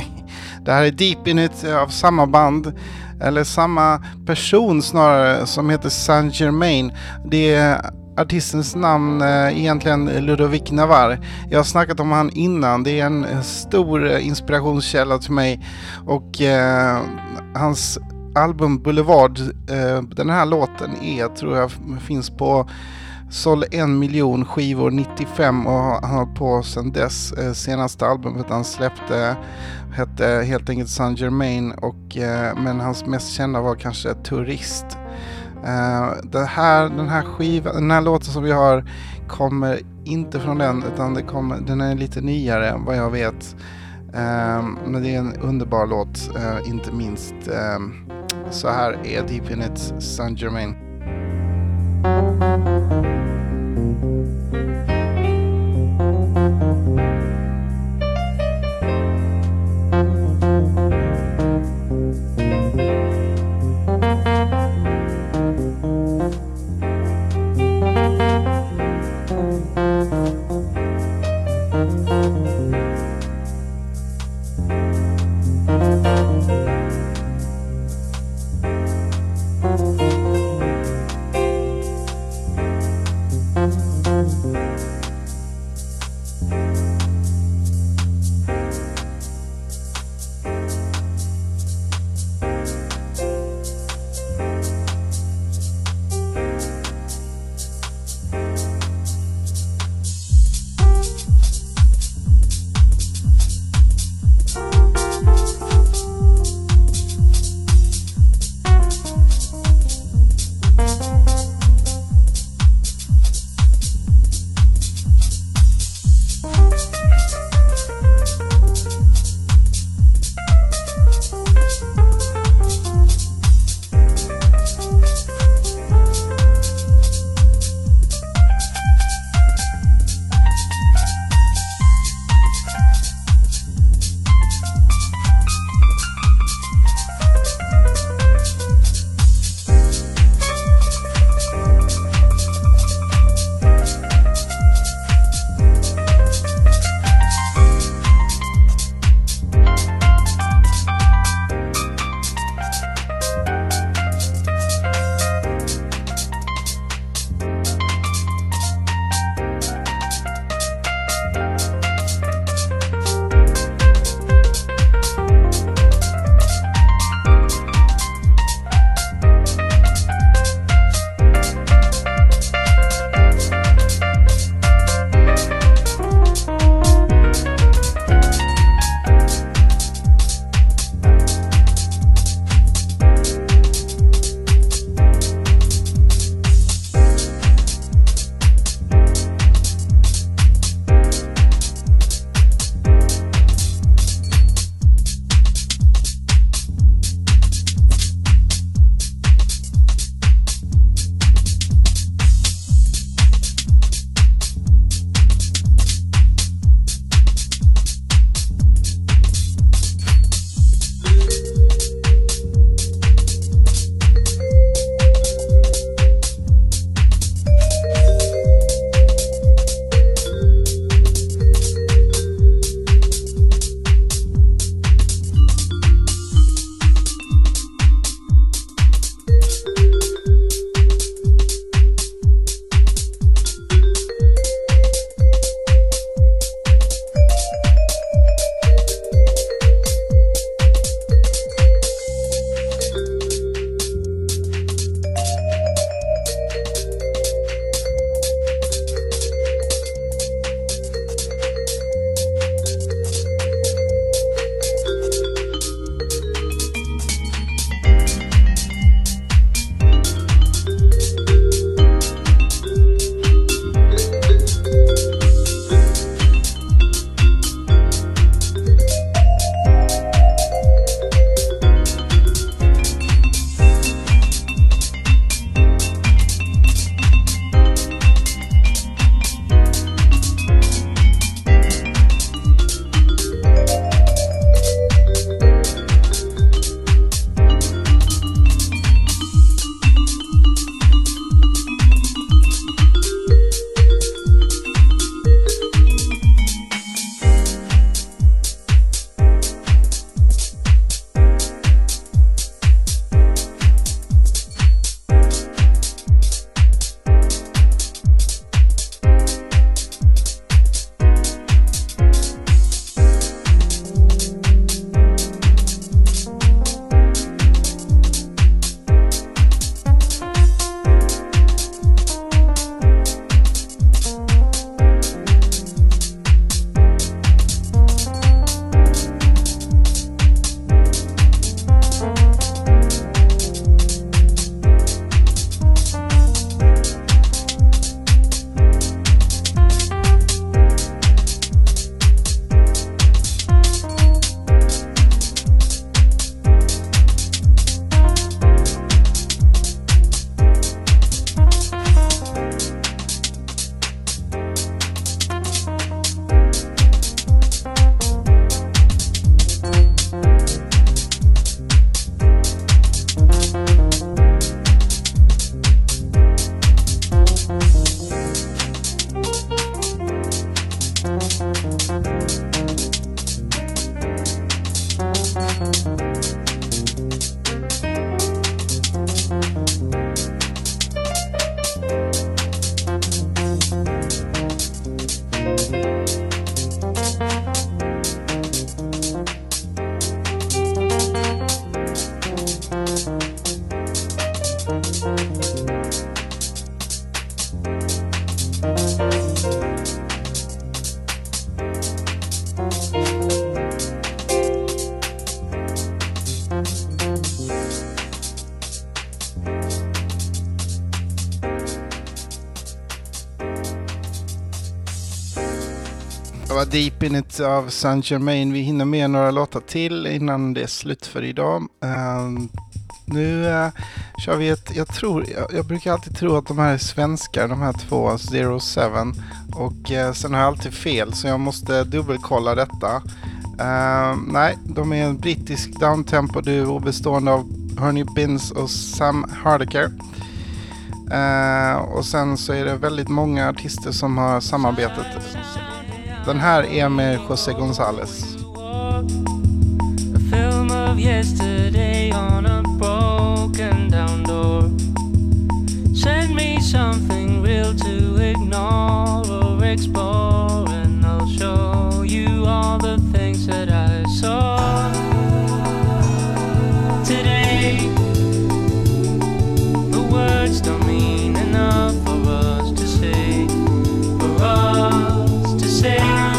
Det här är Deep In It av samma band, eller samma person snarare, som heter Saint Germain. Det är artistens namn egentligen Ludovic Navarre. Jag har snackat om han innan. Det är en stor inspirationskälla till mig, och eh, hans album Boulevard, eh, den här låten är, tror jag, finns på såld en miljon skivor nittiofem, och han har på sedan dess. Eh, senaste albumet han släppte hette helt enkelt Saint Germain, och, eh, men hans mest kända var kanske Turist. Uh, det här, den här skivan, den här låten som vi har kommer inte från den, utan det kommer, den är lite nyare än vad jag vet. Uh, men det är en underbar låt, uh, inte minst. Uh, så här är Deep In It, Saint Germain. Det var Deep In It av Saint Germain. Vi hinner med några låtar till innan det är slut för idag. Uh, nu uh, kör vi ett, jag tror, jag, jag brukar alltid tro att de här är svenskar, de här två, Zero Seven. Och uh, sen har jag alltid fel, så jag måste dubbelkolla detta. Uh, nej, de är en brittisk downtempo-duo bestående av Ernie Binns och Sam Hardiker. Uh, och sen så är det väldigt många artister som har samarbetat. Den här är med José González. A film of yesterday on a broken down door. Send me something real to ignore or explore, and I'll show you all the things that I saw today. The words don't mean enough for us to say, for us to say.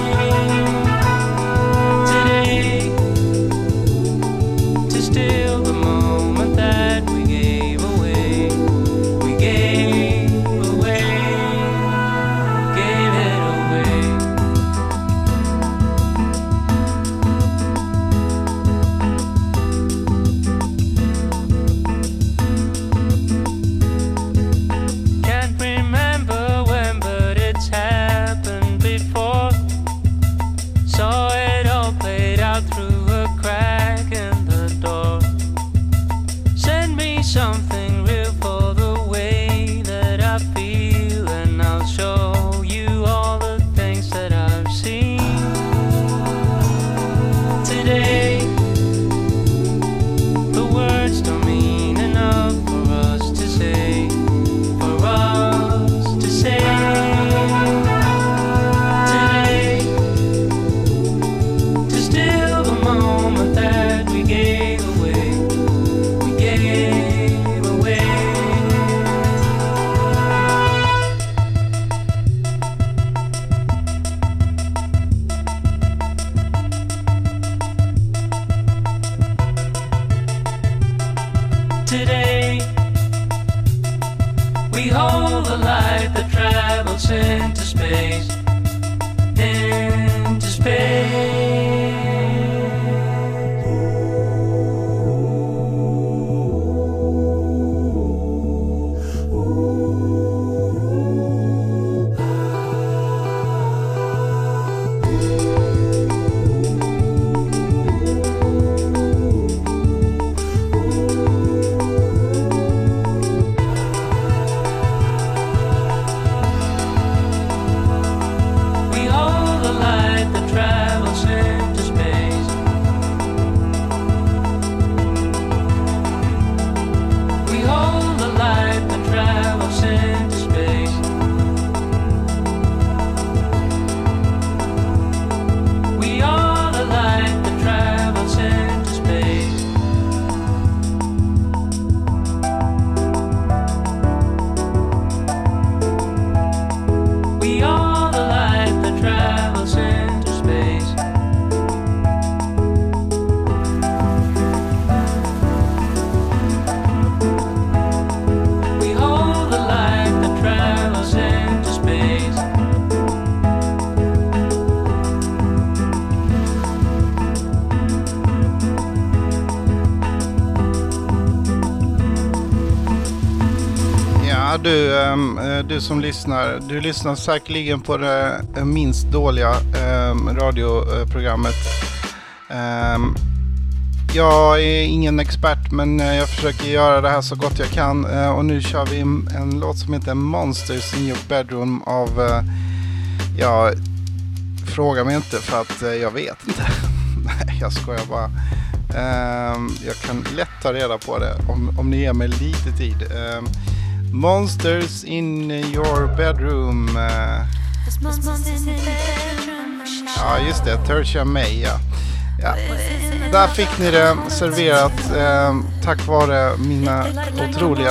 Du, du som lyssnar, du lyssnar säkerligen på det minst dåliga radioprogrammet. Jag är ingen expert, men jag försöker göra det här så gott jag kan. Och nu kör vi en låt som heter Monsters in Your Bedroom av, ja, fråga mig inte för att jag vet inte. Nej, jag skojar bara. Jag kan lätt ta reda på det om, om ni ger mig lite tid. Monsters in Your Bedroom. Ja, just det. Tertia May, ja. Ja. Där fick ni det serverat eh, tack vare mina otroliga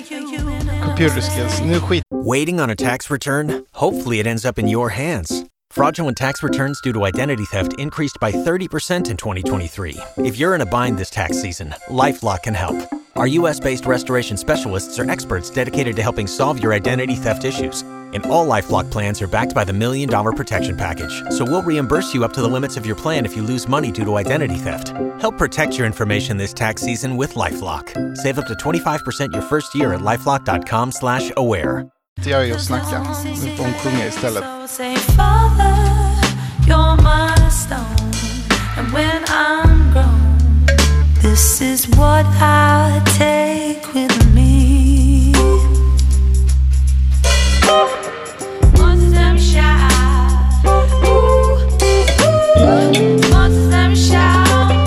computer skills. Nu skit. Waiting on a tax return? Hopefully it ends up in your hands. Fraudulent tax returns due to identity theft increased by thirty percent in twenty twenty-three. If you're in a bind this tax season, LifeLock can help. Our U S-based restoration specialists are experts dedicated to helping solve your identity theft issues. And all LifeLock plans are backed by the Million Dollar Protection Package. So we'll reimburse you up to the limits of your plan if you lose money due to identity theft. Help protect your information this tax season with LifeLock. Save up to twenty-five percent your first year at LifeLock.com slash aware. Det gör jag att snacka. Nu får hon sjunga istället. Say, Father, you're my stone. And when I'm grown, this is what I take with me. Monsters let me shout. Ooh, ooh. Monsters let me shout.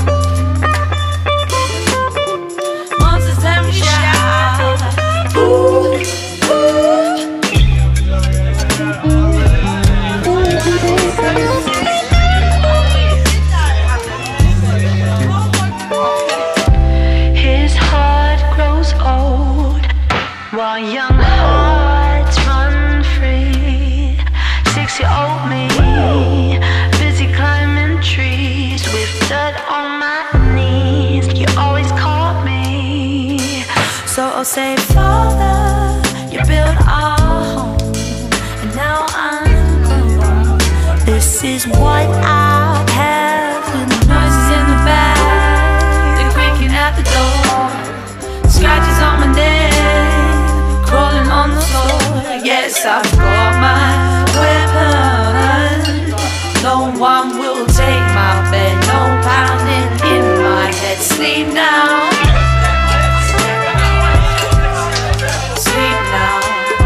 Monsters let me shout. Ooh, ooh. His heart grows old while young hearts run free. Six-year-old me, busy climbing trees with dirt on my knees. You always caught me, so I'll say, Father, you built our home, and now I'm grown. This is what I have. With the noises in the back, the creaking at the door, scratches on my neck, crawling on the floor. Yes, I've got my weapon. No one will take my bed. No pounding in my head. Sleep now. Sleep now.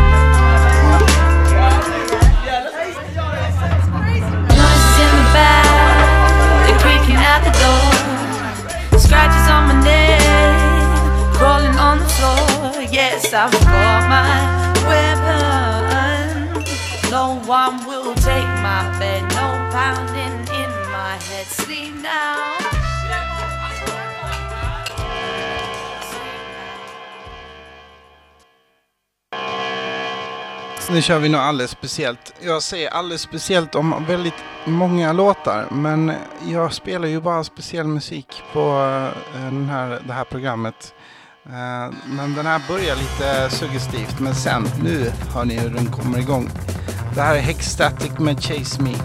Noises in the back, they're creaking at the door, scratches on my neck, crawling on the floor. Yes, I've got my weapon. No one will take my bed. No pounding in my head. Sleep now. Så nu kör vi något alldeles speciellt. Jag säger alldeles speciellt om väldigt många låtar, men jag spelar ju bara speciell musik på den här, det här programmet. Men den här börjar lite suggestivt, men sen, nu hör ni hur den kommer igång. Det här är Hexstatic med Chase Me.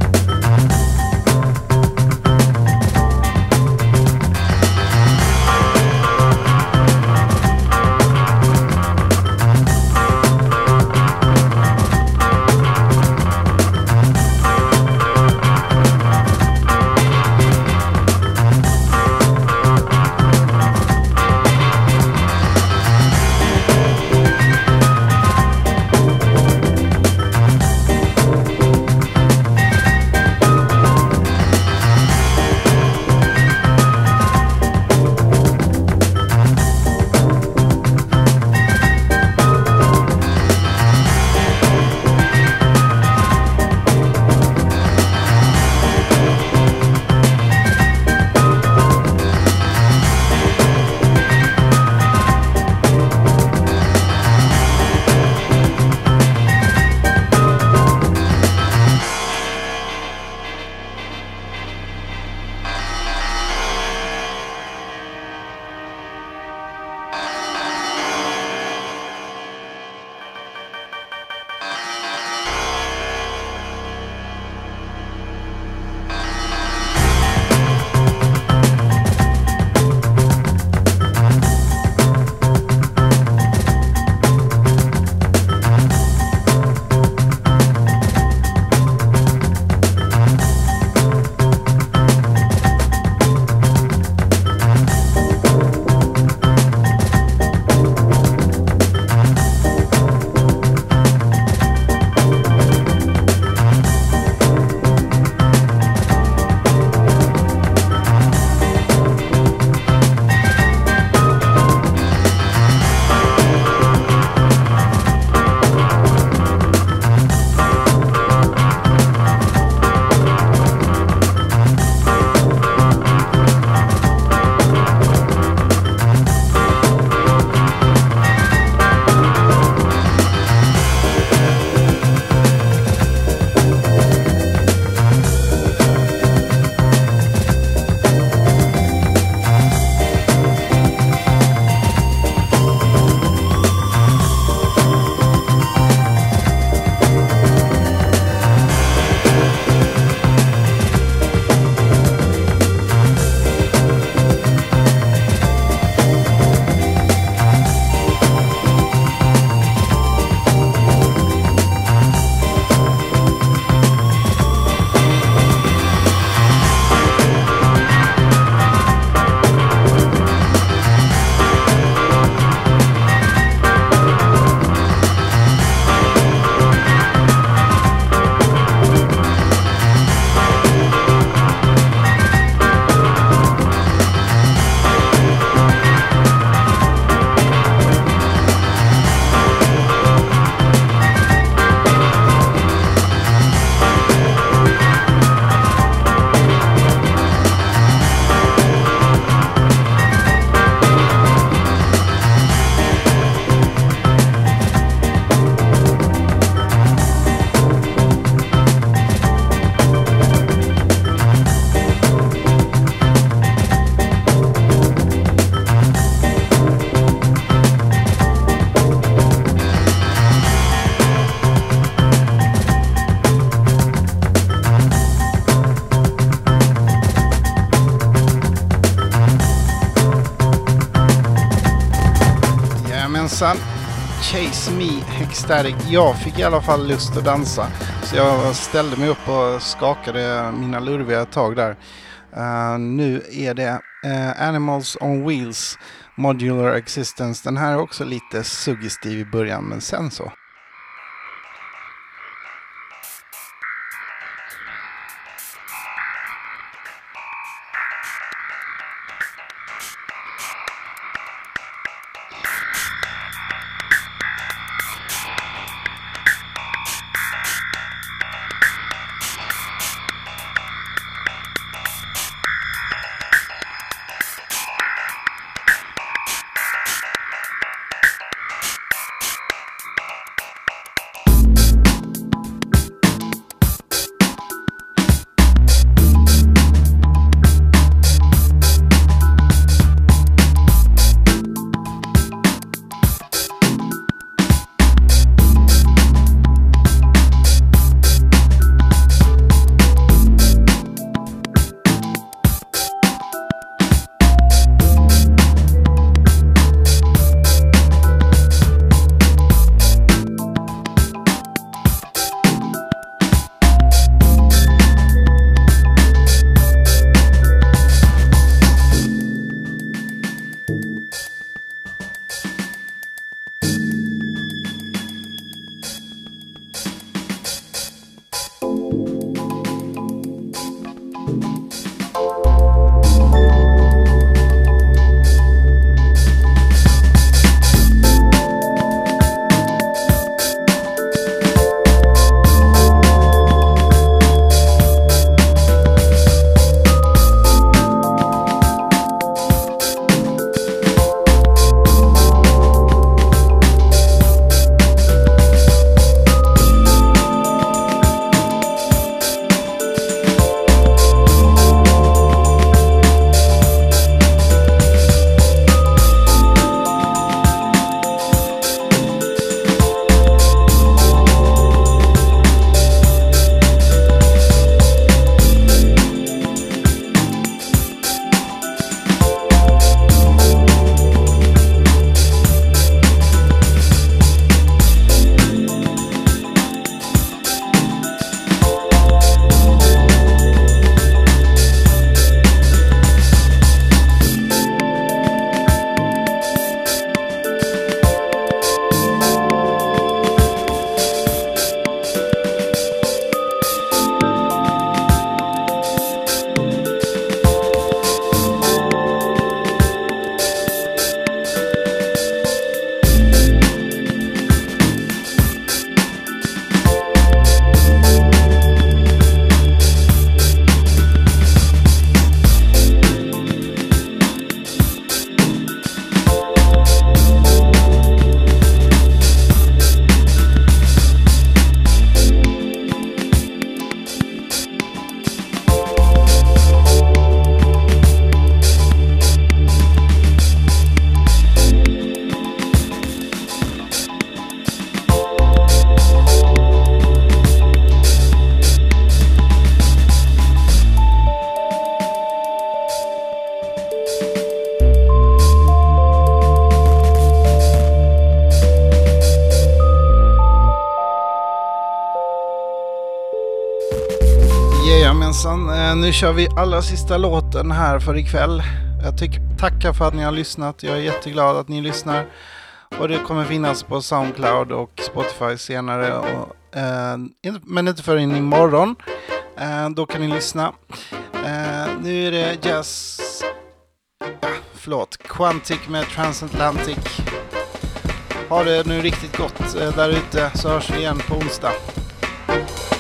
Bye. Chase Me Ecstatic. Jag fick i alla fall lust att dansa. Så jag ställde mig upp och skakade mina lurviga tag där. Uh, nu är det uh, Animals on Wheels Modular Existence. Den här är också lite suggestiv i början, men sen så. Jajamensan, nu kör vi allra sista låten här för ikväll. Jag tycker, tackar för att ni har lyssnat. Jag är jätteglad att ni lyssnar. Och det kommer finnas på SoundCloud och Spotify senare. Och, eh, men inte förrän imorgon. Eh, då kan ni lyssna. Eh, nu är det jazz... Ja, förlåt. Quantic med Transatlantic. Ha det nu riktigt gott eh, där ute, så hörs vi igen på onsdag.